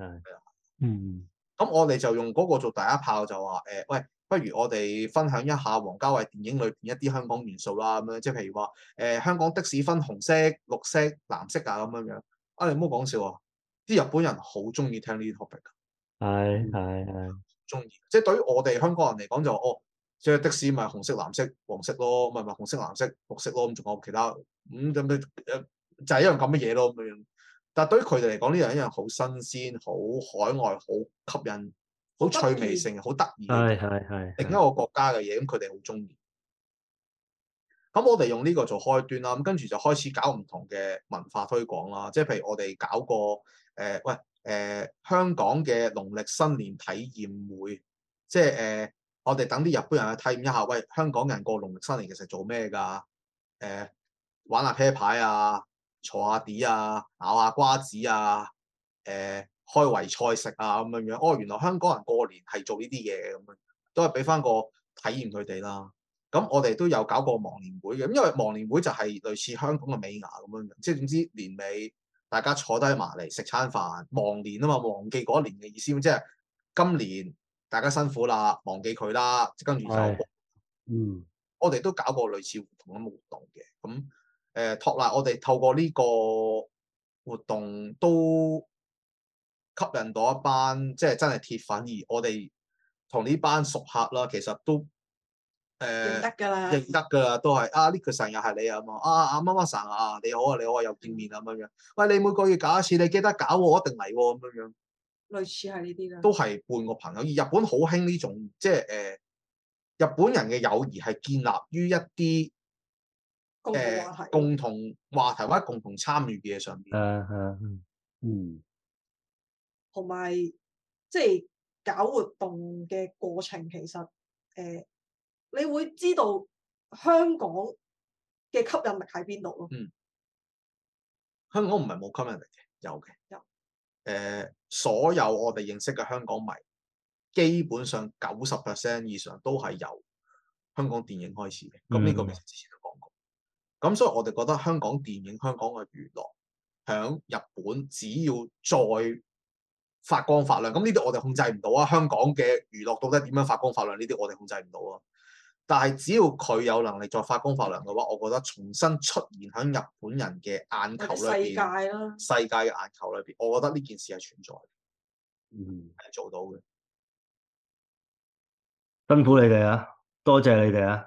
咁我哋就用嗰個做第一炮，就話喂。不如我哋分享一下王家衛電影裏邊一啲香港元素啦，咁樣即係譬如話香港的士分紅色、綠色、藍色啊咁樣。你唔好講笑啊！啲日本人好中意聽呢啲 topic。 係。 中意，即係對於我哋香港人嚟講就即係的士咪紅色、藍色、黃色咯，咪紅色、藍色、綠色咯，咁仲有其他就係一樣咁嘅嘢咯咁樣。但係對於佢哋嚟講，呢樣一樣好新鮮、好海外、好吸引。好趣味性，好得意嘅， 係另一個國家嘅嘢，咁佢哋好中意。咁我哋用呢個做開端啦，咁跟住就開始搞唔同嘅文化推廣啦。即係譬如我哋搞過香港嘅農曆新年體驗會，即係我哋等啲日本人去體驗一下，喂，香港人過農曆新年其實做咩㗎？玩下啤牌啊，坐下地啊，咬下瓜子啊，開圍菜食啊咁樣，原來香港人過年係做呢啲嘢咁樣，都係俾翻個體驗佢哋啦。咁我哋都有搞過忘年會嘅，因為忘年會就係類似香港嘅尾牙咁樣，即係總之年尾大家坐低埋嚟食餐飯，忘年啊嘛，忘記嗰一年嘅意思，即係今年大家辛苦啦，忘記佢啦，跟住就我哋都搞過類似同樣嘅活動嘅。咁托賴我哋透過呢個活動都吸引到一班即係真係鐵粉，而我哋同呢班熟客啦，其實都認得㗎啦， 認得㗎啦，都係呢個神又係你啊嘛，乜乜神啊，你好啊，你好啊，又見面啊咁樣。喂，你每個月搞一次，你記得搞喎，我一定嚟喎咁樣。 類似係呢啲啦。 都係半個朋友，而日本好興呢種，即係日本人嘅友誼係建立於一啲共同話題或者共同參與嘅嘢上邊。 同埋即係搞活動嘅過程，其實你會知道香港嘅吸引力喺邊度咯。 香港唔係冇吸引力嘅，有嘅。所有我哋認識嘅香港迷，基本上90% 以上都係由香港電影開始嘅。咁呢個其實之前都講過。咁所以我哋覺得香港電影、香港嘅娛樂，響日本只要再發光發亮，咁呢啲我哋控制唔到啊！香港嘅娛樂到底點樣發光發亮？呢啲我哋控制唔到啊！但係只要佢有能力再發光發亮嘅話，我覺得重新出現喺日本人嘅眼球裏邊，世界嘅眼球裏邊，我覺得呢件事係存在嘅，係做到嘅。 辛苦你哋啊，多謝你哋啊！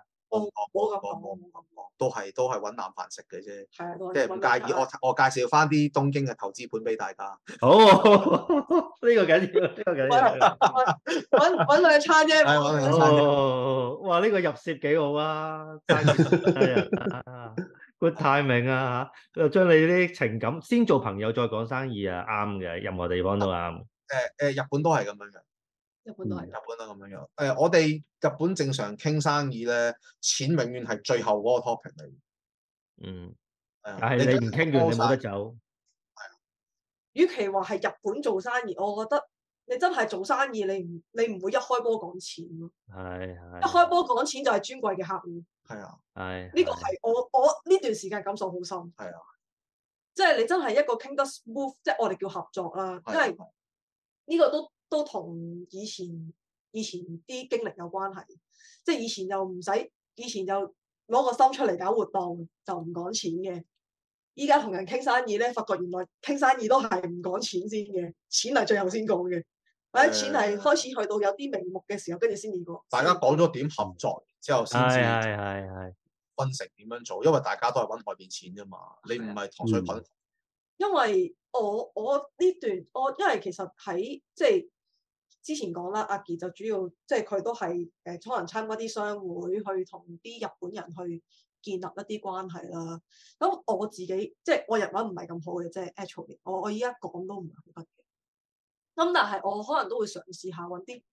都係揾啖飯食嘅啫，即係唔介意我介紹翻啲東京嘅投資盤俾大家。 好，呢個緊要，呢個緊要。 揾兩餐啫。 揾兩餐啫。哇，呢個入攝幾好啊！係啊，good timing 啊嚇！又將你啲情感先做朋友，再講生意啊，啱嘅，任何地方都啱。 日本都係咁樣嘅。 日本都係咁樣樣。我哋日本正常傾生意咧，錢永遠係最後嗰個 topic 嚟。 但係你唔傾完，你冇得走。 與其話係日本做生意，我覺得你真係做生意，你唔會一開波講錢咯。一開波講錢就係尊貴嘅客戶。 係啊。 呢個係我呢段時間感受好深。係啊。即係你真係一個傾得 smooth，即係我哋叫合作啦。因為呢個都同以前啲經歷有關係，即係以前就攞個心出嚟搞活動就唔講錢嘅，依家同人傾生意咧，發覺原來傾生意都係唔講錢先嘅，錢係最後先講嘅，或者錢係開始去到有啲名目嘅時候，跟住先至講。 大家講咗點合作之後，先至分成點樣做，因為大家都係揾外邊錢啫嘛，你唔係糖水滾。 因為我呢段因為其實喺即係。之前講啦，阿傑就主要即係佢都係可能參加啲商會，去同啲日本人去建立一啲關係啦。咁我自己即係我日文唔係咁好嘅，即係 actually 我依家講都唔係好得嘅。咁但係我可能都會嘗試下揾啲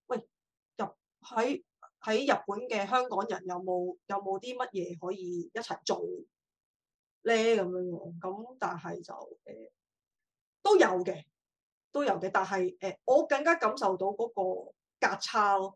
喺日本嘅香港人有冇啲乜嘢可以一齊做咧咁樣樣。咁但係就都有嘅，但係我更加感受到嗰個價差咯，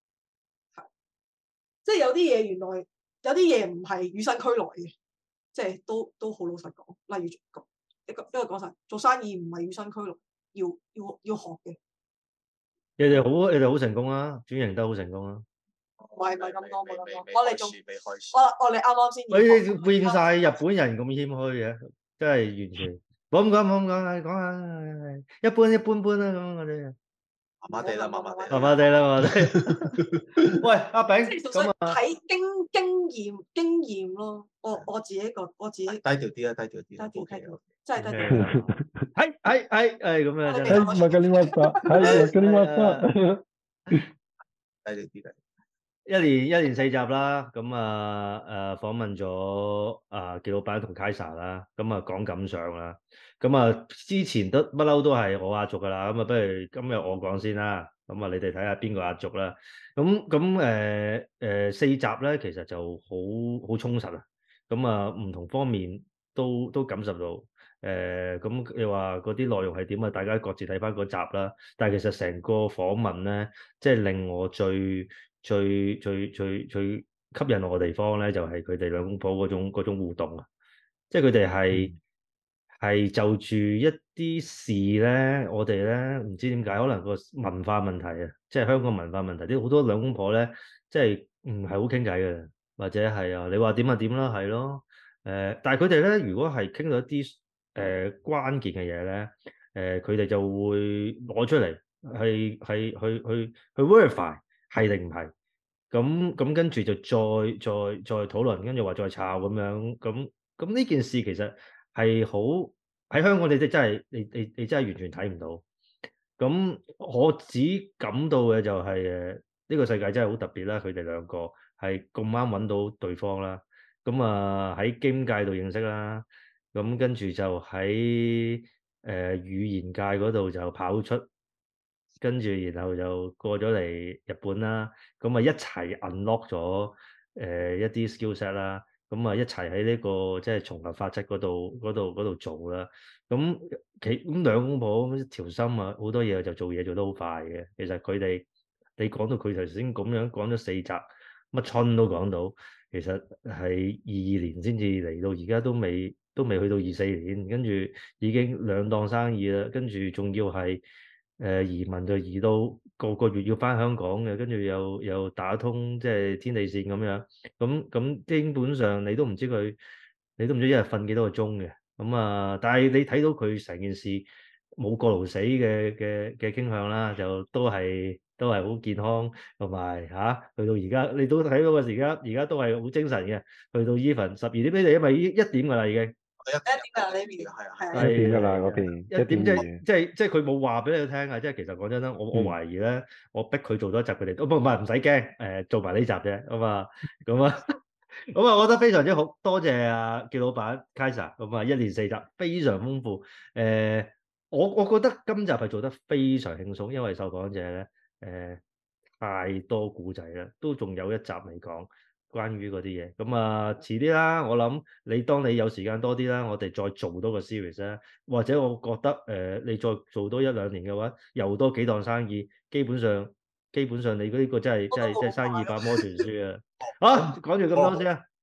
即係有啲嘢原來有啲嘢唔係與生俱來嘅，即係都好老實講。例如一個講實，做生意唔係與生俱來，要學嘅。 你哋好成功啊，轉型得好成功啊！ 唔係咁多，我哋仲我哋啱啱先。 你變晒日本人咁謙虛嘅，真係完全。冇咁講，講下一般般啦咁我哋。 麻麻地啦。 喂，阿炳， 咁啊，睇經驗咯。我自己低調啲啦，低調， 真係低調。 係咁樣。 唔係嗰啲乜嘢，係嗰啲乜嘢。 低調啲。 一年4集啦，咁訪問咗傑老闆同 Kaisa 啦，咁講感想啦，咁之前不嬲都係我壓軸噶啦，咁不如今日我講先啦，咁你哋睇下邊個壓軸啦，咁4集咧其實就好充實啊，咁唔同方面都感受到，咁你話嗰啲內容係點啊？大家各自睇翻嗰集啦，但係其實成個訪問咧，即係令我最吸引我嘅地方咧，就係佢哋兩公婆嗰種互動啊！即係佢哋係就住一啲事咧，我哋咧唔知點解，可能個文化問題啊，即係香港文化問題，啲好多兩公婆咧，即係唔係好傾偈嘅，或者係你話點就點啦，係咯，但係佢哋咧，如果係傾到一啲關鍵嘅嘢咧，佢哋就會攞出嚟去 verify。係定唔係？ 咁跟住就再討論，跟住話再炒咁樣，咁呢件事其實係好喺香港，你真係你真係完全睇唔到。咁我只感到嘅就係呢個世界真係好特別啦，佢哋兩個係咁啱揾到對方啦。咁啊喺 game 界度認識啦，咁跟住就喺語言界嗰度就跑出。跟住，然後就過咗嚟日本啦，咁啊一齊 unlock 咗一啲 skillset 啦，咁啊一齊喺呢個即係重合法則嗰度做啦。咁兩公婆咁條心啊，好多嘢就做嘢做得好快嘅。其實佢哋你講到佢頭先咁樣講咗4集，乜春都講到，其實係22年先至嚟到，而家都未去到24年，跟住已經兩檔生意啦，跟住仲要係。移民就移到個月要返香港嘅，跟住又打通即係天地線咁樣，咁基本上你都唔知一日瞓幾多個鐘嘅，但係你睇到佢成件事冇過勞死嘅傾向啦，就都係好健康，同埋去到而家你都睇到個時間，而家都係好精神嘅，去到 even 12點俾你，因為1點㗎啦已經。 1點㗎呢邊，係 1點㗎啦嗰邊 ，1點即係佢冇話俾你聽啊！即係其實講真啦，我懷疑咧，我逼佢做多一集，佢哋都唔使驚，做埋呢集啫，咁啊，我覺得非常之好，多謝阿傑老闆 Kaisa，咁啊1連4集非常豐富，我覺得今集係做得非常輕鬆，因為受訪者咧太多古仔啦，都仲有一集未講。關於嗰啲嘢，咁遲啲啦，我諗當你有時間多啲啦，我哋再做多個 series 啦，或者我覺得你再做多1-2年嘅話，又多幾檔生意，基本上你呢個真係生意百魔全書啊！好，講住咁多先啊。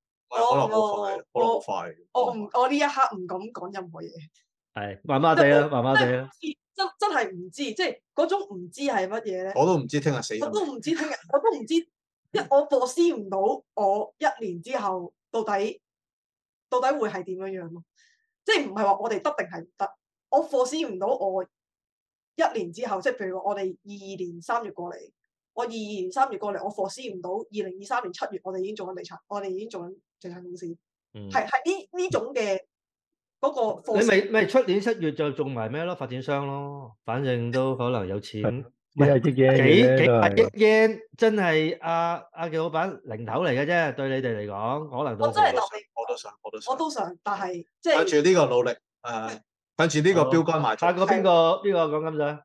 我呢一刻唔敢講任何嘢。 係麻麻地啊，麻麻地啊。 真係唔知，即係嗰種唔知係乜嘢咧？ 我都唔知聽日死。 我都唔知聽日，我都唔知。我 foresee 唔到我1年之後到底會係點樣樣咯？即係唔係話我哋得定係唔得？我 foresee 唔到我1年之後，即係譬如話我哋22年3月過嚟，我22年3月過嚟，我 foresee 唔到2023年7月我哋已經做緊地產，我哋已經做緊地產公司，係呢種嘅嗰個。 你咪出年7月就做埋咩咯？發展商咯，反正都可能有錢。 幾百億 yen 真係阿傑老闆零頭嚟嘅啫，對你哋嚟講可能都我真係我都想， 但係即係跟住呢個努力，跟住呢個標杆埋。 下個邊個講金仔？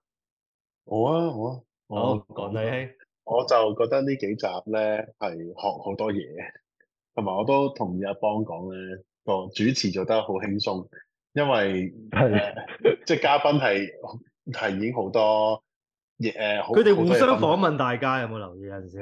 好， 講你兄， 我就覺得呢幾集咧係學好多嘢，同埋我都同意阿邦講咧個主持做得好輕鬆，因為即係嘉賓係已經好多。 佢哋互相訪問大家，有冇留意？有陣時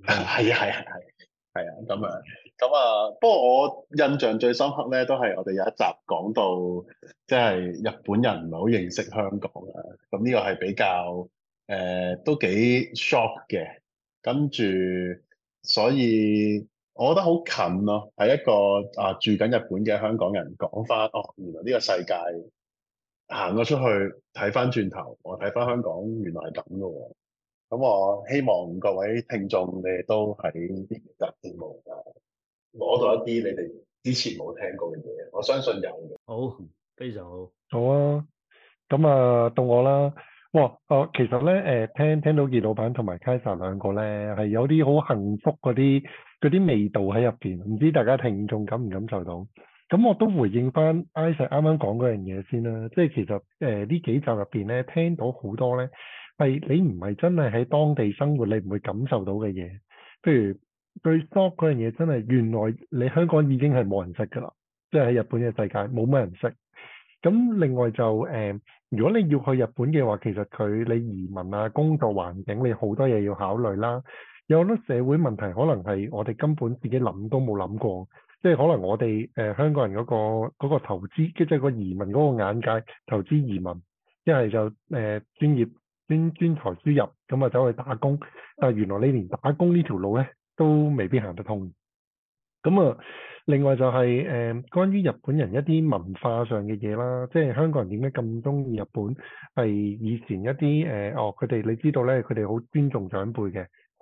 係咁不過我印象最深刻咧，都係我哋有一集講到，即係日本人唔係好認識香港啊。咁呢個係比較都幾 shock 嘅。跟住，所以我覺得好近咯，係一個住緊日本嘅香港人講翻，原來呢個世界。行咗出去睇翻轉頭，我睇翻香港原來係咁嘅喎。咁我希望各位聽眾你哋都喺呢集節目攞到一啲你哋之前冇聽過嘅嘢，我相信有嘅。 好，非常好。 好啊，咁到我啦。哇，其實咧聽到傑老闆同埋 Kaisa 兩個咧係有啲好幸福嗰啲味道喺入邊，唔知大家聽眾感唔感受到？咁我都回應翻 Isaac 啱啱講嗰樣嘢先啦，即係其實呢幾集入邊咧，聽到好多咧係你唔係真係喺當地生活，你唔會感受到嘅嘢。譬如對 stock 嗰樣嘢，真係原來你香港已經係冇人識㗎啦，即係喺日本嘅世界冇乜人識。咁另外就如果你要去日本嘅話，其實你移民啊、工作環境，你好多嘢要考慮啦。有好多社會問題，可能係我哋根本自己諗都冇諗過。即係可能我哋香港人嗰個投資，即係個移民嗰個眼界，投資移民，一係就專業專才輸入，咁走去打工。但係原來你連打工呢條路咧都未必行得通。另外就係關於日本人一啲文化上嘅嘢啦，即係香港人點解咁中意日本？係以前一啲佢哋你知道咧，佢哋好尊重長輩嘅，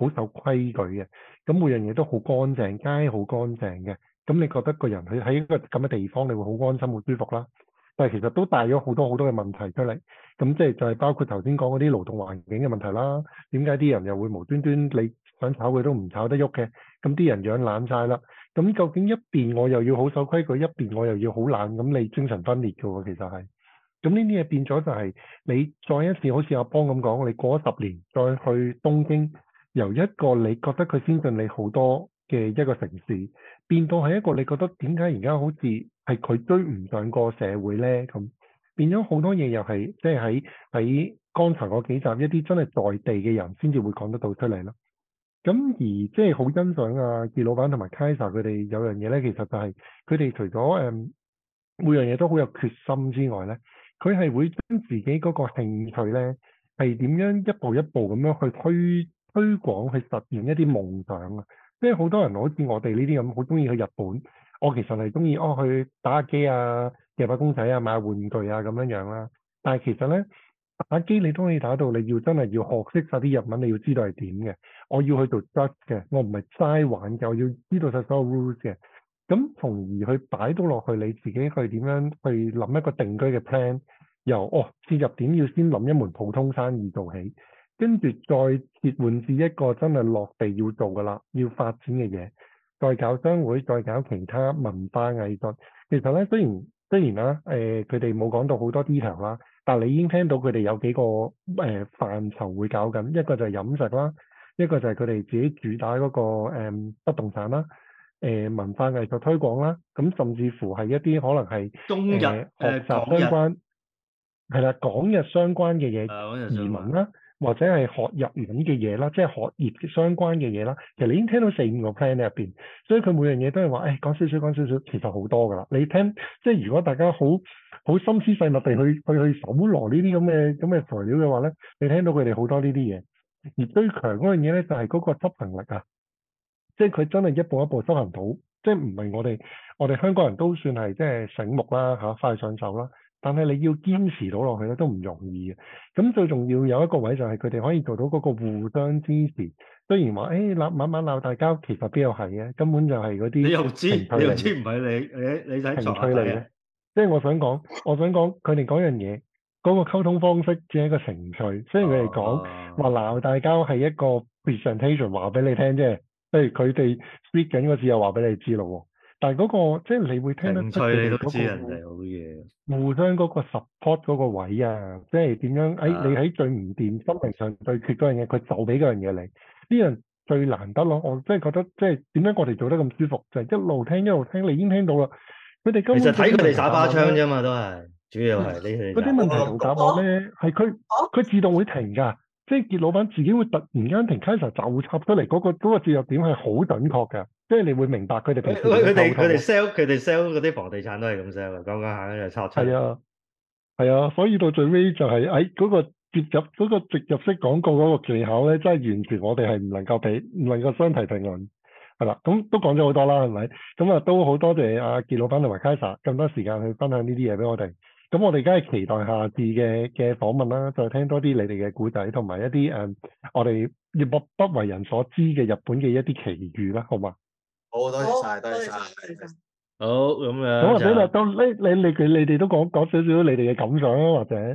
好守規矩嘅，咁每樣嘢都好乾淨，街好乾淨嘅，咁你覺得個人喺一個咁嘅地方，你會好安心、好舒服啦。但係其實都帶咗好多好多嘅問題出嚟，咁即係就係包括頭先講嗰啲勞動環境嘅問題啦。點解啲人又會無端端你想炒佢都唔炒得喐嘅？咁啲人養懶晒啦。咁究竟一邊我又要好守規矩，一邊我又要好懶，咁你精神分裂嘅喎，其實係。咁呢啲嘢變咗就係你再一次好似阿邦咁講，你過咗10年再去東京，由一個你覺得佢先進你好多嘅一個城市，變到係一個你覺得點解而家好似係佢追唔上個社會咧？咁變咗好多嘢又係即係喺剛才嗰幾集一啲真係在地嘅人先至會講得到出嚟咯。咁而即係好欣賞啊傑老闆同埋 Kaisa 佢哋有樣嘢咧，其實就係佢哋除咗每樣嘢都好有決心之外咧，佢係會將自己嗰個興趣咧係點樣一步一步咁樣去推廣去實現一啲夢想啊！即係好多人好似我哋呢啲咁，好中意去日本。我其實係中意去打下機啊、夾下公仔啊、買下玩具啊咁樣樣啦。但係其實咧，打機你都可以打到，你要真係要學識晒啲日文，你要知道係點嘅。我要去做 judge 嘅，我唔係齋玩嘅，我要知道晒所有 rules 嘅。咁從而去擺到落去你自己去點樣去諗一個定居嘅 plan，由切入點要先諗一門普通生意做起，跟住再切換至一個真係落地要做㗎啦，要發展嘅嘢，再搞商會，再搞其他文化藝術。其實咧，雖然啦，佢哋冇講到好多 detail 啦，但係你已經聽到佢哋有幾個範疇會搞緊，一個就係飲食啦，一個就係佢哋自己主打嗰個不動產啦。文化藝術推廣啦，咁甚至乎係一啲可能係中日學習相關，係啦，港日相關嘅嘢，移民啦，或者係學日文嘅嘢啦，即係學業相關嘅嘢啦。其實你已經聽到4-5個 plan 喺入邊，所以佢每樣嘢都係話，講少少，其實好多㗎啦。你聽，即係如果大家好心思細密地去搜羅呢啲咁嘅材料嘅話咧，你聽到佢哋好多呢啲嘢。而最強嗰樣嘢咧，就係嗰個執行力啊！即係佢真係一步一步執行到，即係唔係我哋香港人都算係即係醒目啦嚇，快上手啦。但係你要堅持到落去咧，都唔容易嘅。咁最重要有一個位就係佢哋可以做到嗰個互相支持。雖然話晚晚鬧大交，其實邊有係嘅，根本就係嗰啲你又知唔係你睇情趣嚟嘅。即係我想講佢哋講樣嘢，嗰個溝通方式只係一個程序。雖然佢哋講話鬧大交係一個 presentation 話俾你聽啫。譬如佢哋 speak 緊嗰次又話俾你知咯喎，但係嗰個即係你會聽得出佢哋嗰個人哋好嘢， 互相嗰個 support 嗰個位啊，即係點樣？你喺最唔掂、心靈上最缺嗰樣嘢，佢就俾嗰樣嘢你，呢樣最難得咯。我真係覺得即係點解我哋做得咁舒服，就係一路聽，你已經聽到啦。佢哋根本其實睇佢哋耍花槍啫嘛，都係主要係呢嗰啲問題同答案咧，係佢自動會停㗎。即係傑老闆自己會突然間停 Kaisa 就插出嚟嗰個切入點係好準確嘅，即係你會明白佢哋平時佢哋 sell 嗰啲房地產都係咁 sell 嘅，講下跟住插出。 係啊，所以到最尾就係嗰個直入式廣告嗰個技巧咧，真係完全我哋係唔能夠相提並論。係啦，咁都講咗好多啦，係咪？咁都好多謝阿傑老闆同埋 Kaisa 咁多時間去分享呢啲嘢俾我哋。咁我哋梗係期待下次嘅訪問啦，再聽多啲你哋嘅故仔，同埋一啲我哋不為人所知嘅日本嘅一啲奇遇啦，好嘛？ 好，多謝晒，多謝晒。 好，咁樣。 咁或者都你哋都講少少你哋嘅感想啊，或者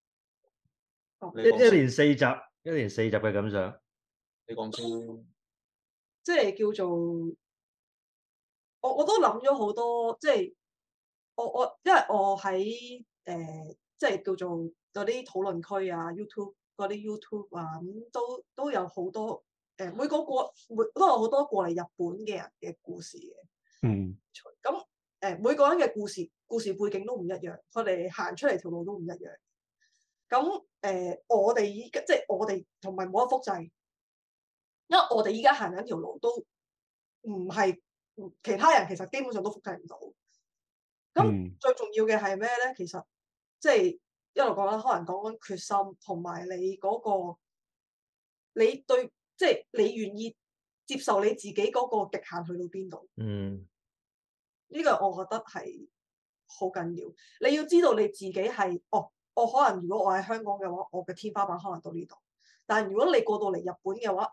一連4集嘅感想， 你講先。 即係叫做我都諗咗好多，即係。因為我喺即係叫做嗰啲討論區啊 YouTube 嗰啲 YouTube 啊，咁都有好多每個都有好多過嚟日本嘅人嘅故事嘅。咁每個人嘅故事背景都唔一樣，佢哋行出嚟條路都唔一樣。咁我哋依家即係我哋同埋冇得複製，因為我哋依家行緊條路都唔係其他人，其實基本上都複製唔到。咁最重要嘅係咩咧？其實即係一路講啦，可能講緊決心，同埋你嗰個你對，即係你願意接受你自己嗰個極限去到邊度？呢個我覺得係好緊要。你要知道你自己係我可能如果我喺香港嘅話，我嘅天花板可能到呢度。但係如果你過到嚟日本嘅話，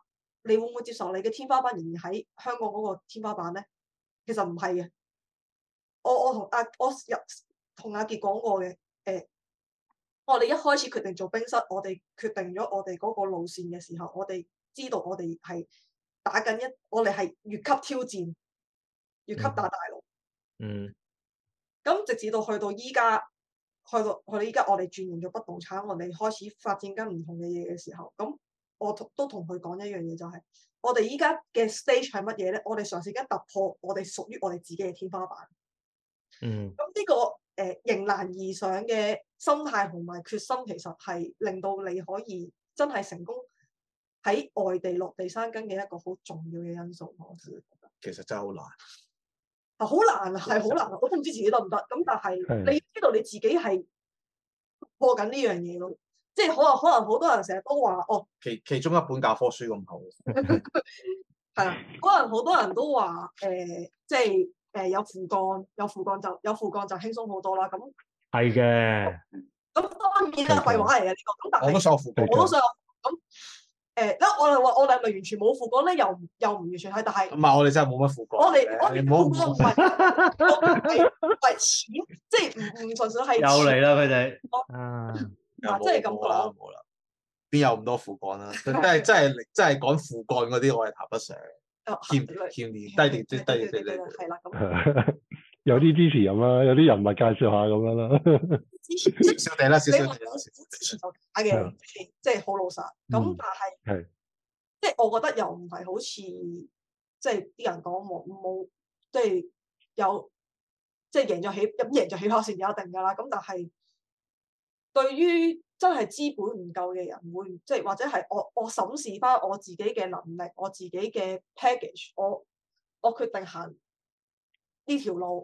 你會唔會接受你嘅天花板仍然喺香港嗰個天花板咧？其實唔係嘅。我同阿傑講過嘅，我哋一開始決定做冰室，我哋決定咗我哋嗰個路線嘅時候，我哋知道我哋係打緊我哋係越級挑戰，越級打大路。 嗯。 咁直至到去到依家，去到依家，我哋轉型咗不動產，我哋開始發展緊唔同嘅嘢嘅時候，咁我都同佢講一樣嘢，就係我哋依家嘅 stage 係乜嘢咧？我哋嘗試緊突破我哋屬於我哋自己嘅天花板。 嗯。 咁呢個迎難而上嘅心態同埋決心，其實係令到你可以真係成功喺外地落地生根嘅一個好重要嘅因素。我自己覺得其實真係好難。 好難啊，係好難啊！我都唔知自己得唔得。咁但係你知道你自己係破緊呢樣嘢咯，即係可能好多人成日都話哦， 其中一本教科書咁厚。 係啊，可能好多人都話即係有副幹就輕鬆好多啦。咁係嘅。 咁當然係廢話嚟嘅呢個。咁但係我都想有副幹。 我都想有咁。我哋話我哋係咪完全冇副幹咧？又唔完全係，但係唔係我哋真係冇乜副幹。我哋副幹唔係錢，即係唔純粹係。 又嚟啦佢哋。 即係咁講。 冇啦，邊有咁多副幹啦？真係講副幹嗰啲，我係談不上。欠低啲係啦咁。 有啲支持人啦，有啲人物介紹下咁樣啦。 少少地啦，少少地啦。 支持就假嘅，即係好老實。咁但係，即係我覺得又唔係好似即係啲人講冇，即係有即係贏咗起跑線就一定㗎啦。咁但係對於真係資本唔夠嘅人，會即係或者係我審視翻我自己嘅能力，我自己嘅 package，我決定行呢條路，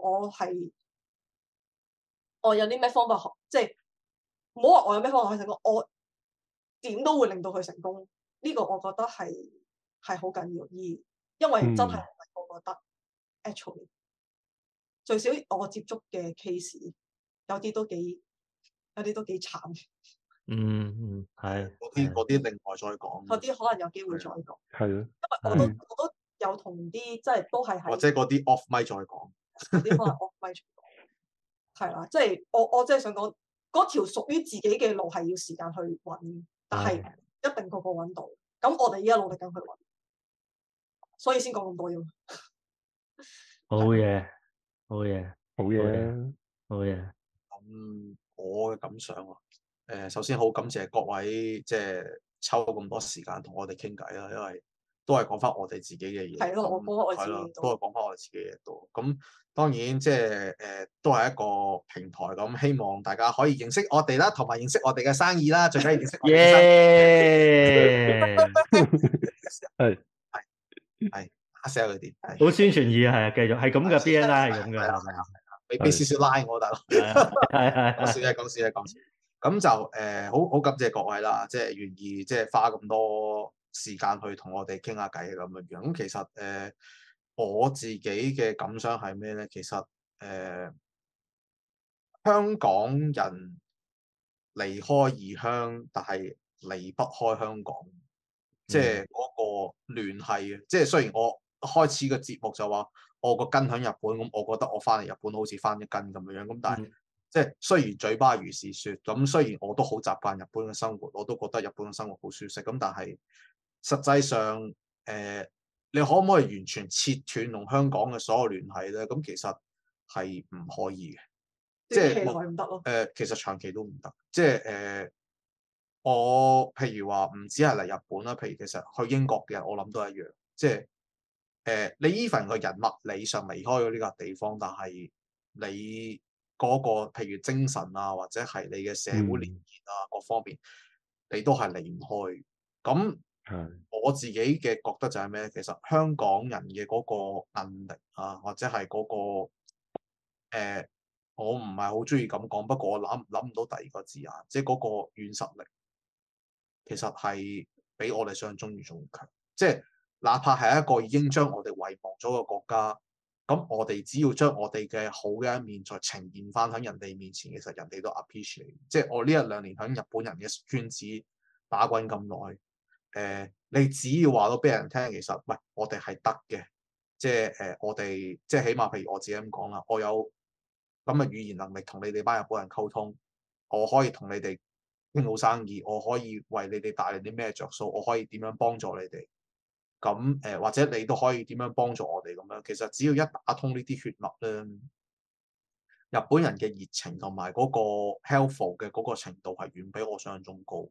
我有啲咩方法學，即係唔好話我有咩方法可以成功，我點都會令到佢成功。呢個我覺得係好緊要，因為真係我覺得 actually 最少我接觸嘅 case 有啲都幾慘。 係。 嗰啲另外再講。 嗰啲可能有機會再講。 係咯。 因為我都有同啲即係都係或者嗰啲 off mic 再講。 嗰啲可能 off mic 係啦，即係我真係想講嗰條屬於自己嘅路係要時間去揾，但係一定個個揾到。咁我哋依家努力緊去揾，所以先講咁多嘢。 好嘢，好嘢， 好嘢， 好嘢。 咁我嘅感想啊，首先好感謝各位即係抽咁多時間同我哋傾偈啦，因為都係講翻我哋自己嘅嘢。係咯，係咯，都係講翻我哋自己嘅嘢多。咁當然即係都係一個平台咁，希望大家可以認識我哋啦，同埋認識我哋嘅生意啦，最緊要認識我哋嘅生意。係，sell 佢啲， 好宣傳意啊，係啊，繼續係咁嘅 BNI 係咁嘅，係咪啊？ 俾少少拉我大佬，係講笑。咁就好感謝各位啦，即係願意即係花咁多時間去同我哋傾下偈咁樣樣。咁其實我自己嘅感想係咩咧？其實香港人離開異鄉，但係離不開香港，即係嗰個聯繫啊！即係雖然我開始個節目就話我個根喺日本，咁我覺得我翻嚟日本好似翻一根咁樣，咁但係即係雖然嘴巴如是説，咁雖然我都好習慣日本嘅生活，我都覺得日本嘅生活好舒適，咁但係實際上你可唔可以完全切斷同香港嘅所有聯繫咧？咁其實係唔可以嘅，即係唔得咯。 其實長期都唔得，即係我譬如話唔止係嚟日本啦，譬如其實去英國嘅人，我諗都一樣，即係你 even 個人物理上離開咗呢個地方，但係你嗰個譬如精神啊，或者係你嘅社會連結啊，各方面你都係離唔開。咁我自己嘅覺得就係咩？其實香港人嘅嗰個韌力啊，或者係嗰個我唔係好中意咁講，不過我諗唔到第二個字眼，即係嗰個軟實力，其實係比我哋想象中要仲強。即係哪怕係一個已經將我哋遺忘咗嘅國家，咁我哋只要將我哋嘅好嘅一面再呈現翻喺人哋面前，其實人哋都 appreciate。即係我呢一兩年喺日本人嘅圈子打滾咁耐， 你只要話到俾人聽，其實喂，我哋係得嘅，即係我哋即係起碼，譬如我自己咁講啦，我有咁嘅語言能力同你哋班日本人溝通，我可以同你哋傾好生意，我可以為你哋帶嚟啲咩着數，我可以點樣幫助你哋。咁或者你都可以點樣幫助我哋咁樣。其實只要一打通呢啲血脈咧，日本人嘅熱情同埋嗰個 helpful 嘅嗰個程度係遠比我想象中高。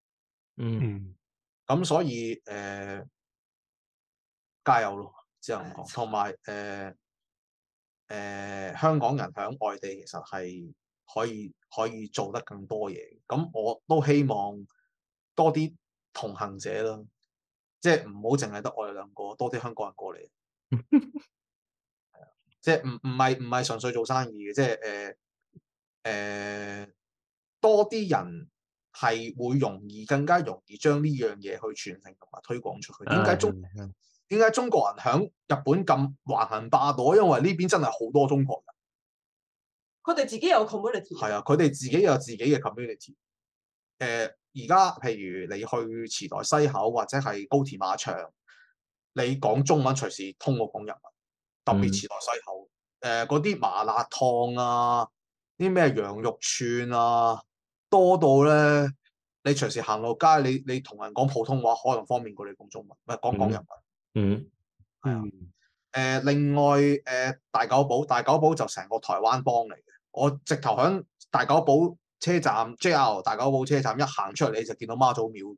咁所以加油咯，只能講。同埋香港人喺外地其實係可以做得更多嘢。咁我都希望多啲同行者啦。即係唔好淨係得我哋兩個，多啲香港人過嚟。係啊，即係唔係純粹做生意嘅，即係多啲人係會更加容易將呢樣嘢去傳承同埋推廣出去。點解中國人響日本咁橫行霸道？因為呢邊真係好多中國人， 佢哋自己有 community。係啊，佢哋自己有自己嘅 community。而家譬如你去池袋西口或者係高田馬場，你講中文隨時通過講日文，特別池袋西口嗰啲麻辣燙啊，啲咩羊肉串啊，多到咧你隨時行落街，你同人講普通話可能方便過你講中文，唔係講日文。係啊。另外大久保就成個台灣幫嚟嘅，我直頭響大久保車站 JR 大久保車站一行出嚟，你就見到媽祖廟。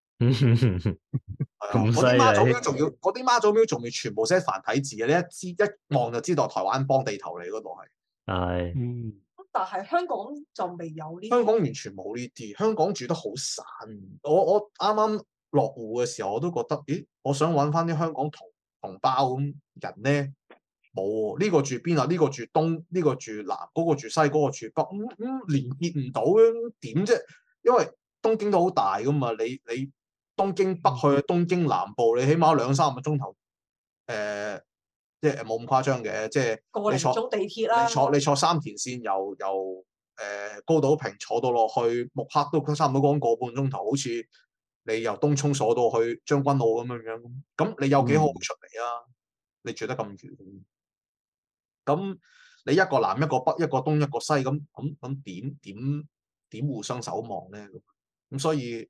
咁犀利！ 嗰啲媽祖廟仲要全部寫繁體字嘅，你一望就知道台灣幫地頭嚟嗰度係。 係。 但係香港就未有呢啲。 香港完全冇呢啲，香港住得好散。我啱啱落戶嘅時候，我都覺得，咦，我想揾翻啲香港同胞咁人咧。冇喎，呢個住邊啊？呢個住東，呢個住南，嗰個住西，嗰個住北，連結唔到嘅點啫？因為東京都好大噶嘛，你東京北去東京南部，你起碼2-3個鐘頭，即係冇咁誇張嘅，即係你坐地鐵啦， 你坐三田線由高島平坐到落去木刻都差唔多講個半鐘頭，好似你由東涌坐到去將軍澳咁樣，咁你有幾好出嚟啊？你住得咁遠。咁你一個南一個北一個東一個西，咁點互相守望咧？咁所以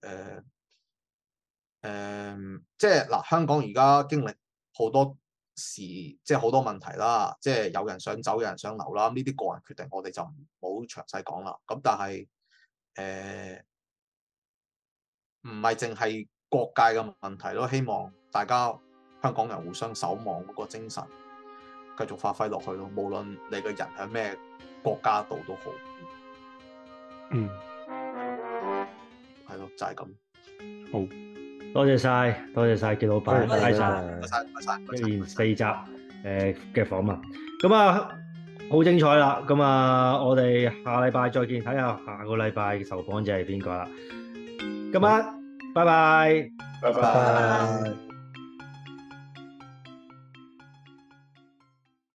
即係嗱，香港而家經歷好多事，即係好多問題啦，即係有人想走，有人想留啦。呢啲個人決定，我哋就唔好詳細講啦。咁但係唔係淨係國界嘅問題咯，希望大家香港人互相守望嗰個精神繼續發揮落去咯，無論你個人喺咩國家度都好。係咯，就係咁。 好， 多謝晒紀老闆， 多謝晒一連4集嘅訪問，咁啊好精彩啦！咁啊，我哋下禮拜再見，睇下下個禮拜受訪者係邊個啦。今晚，拜拜， 拜拜。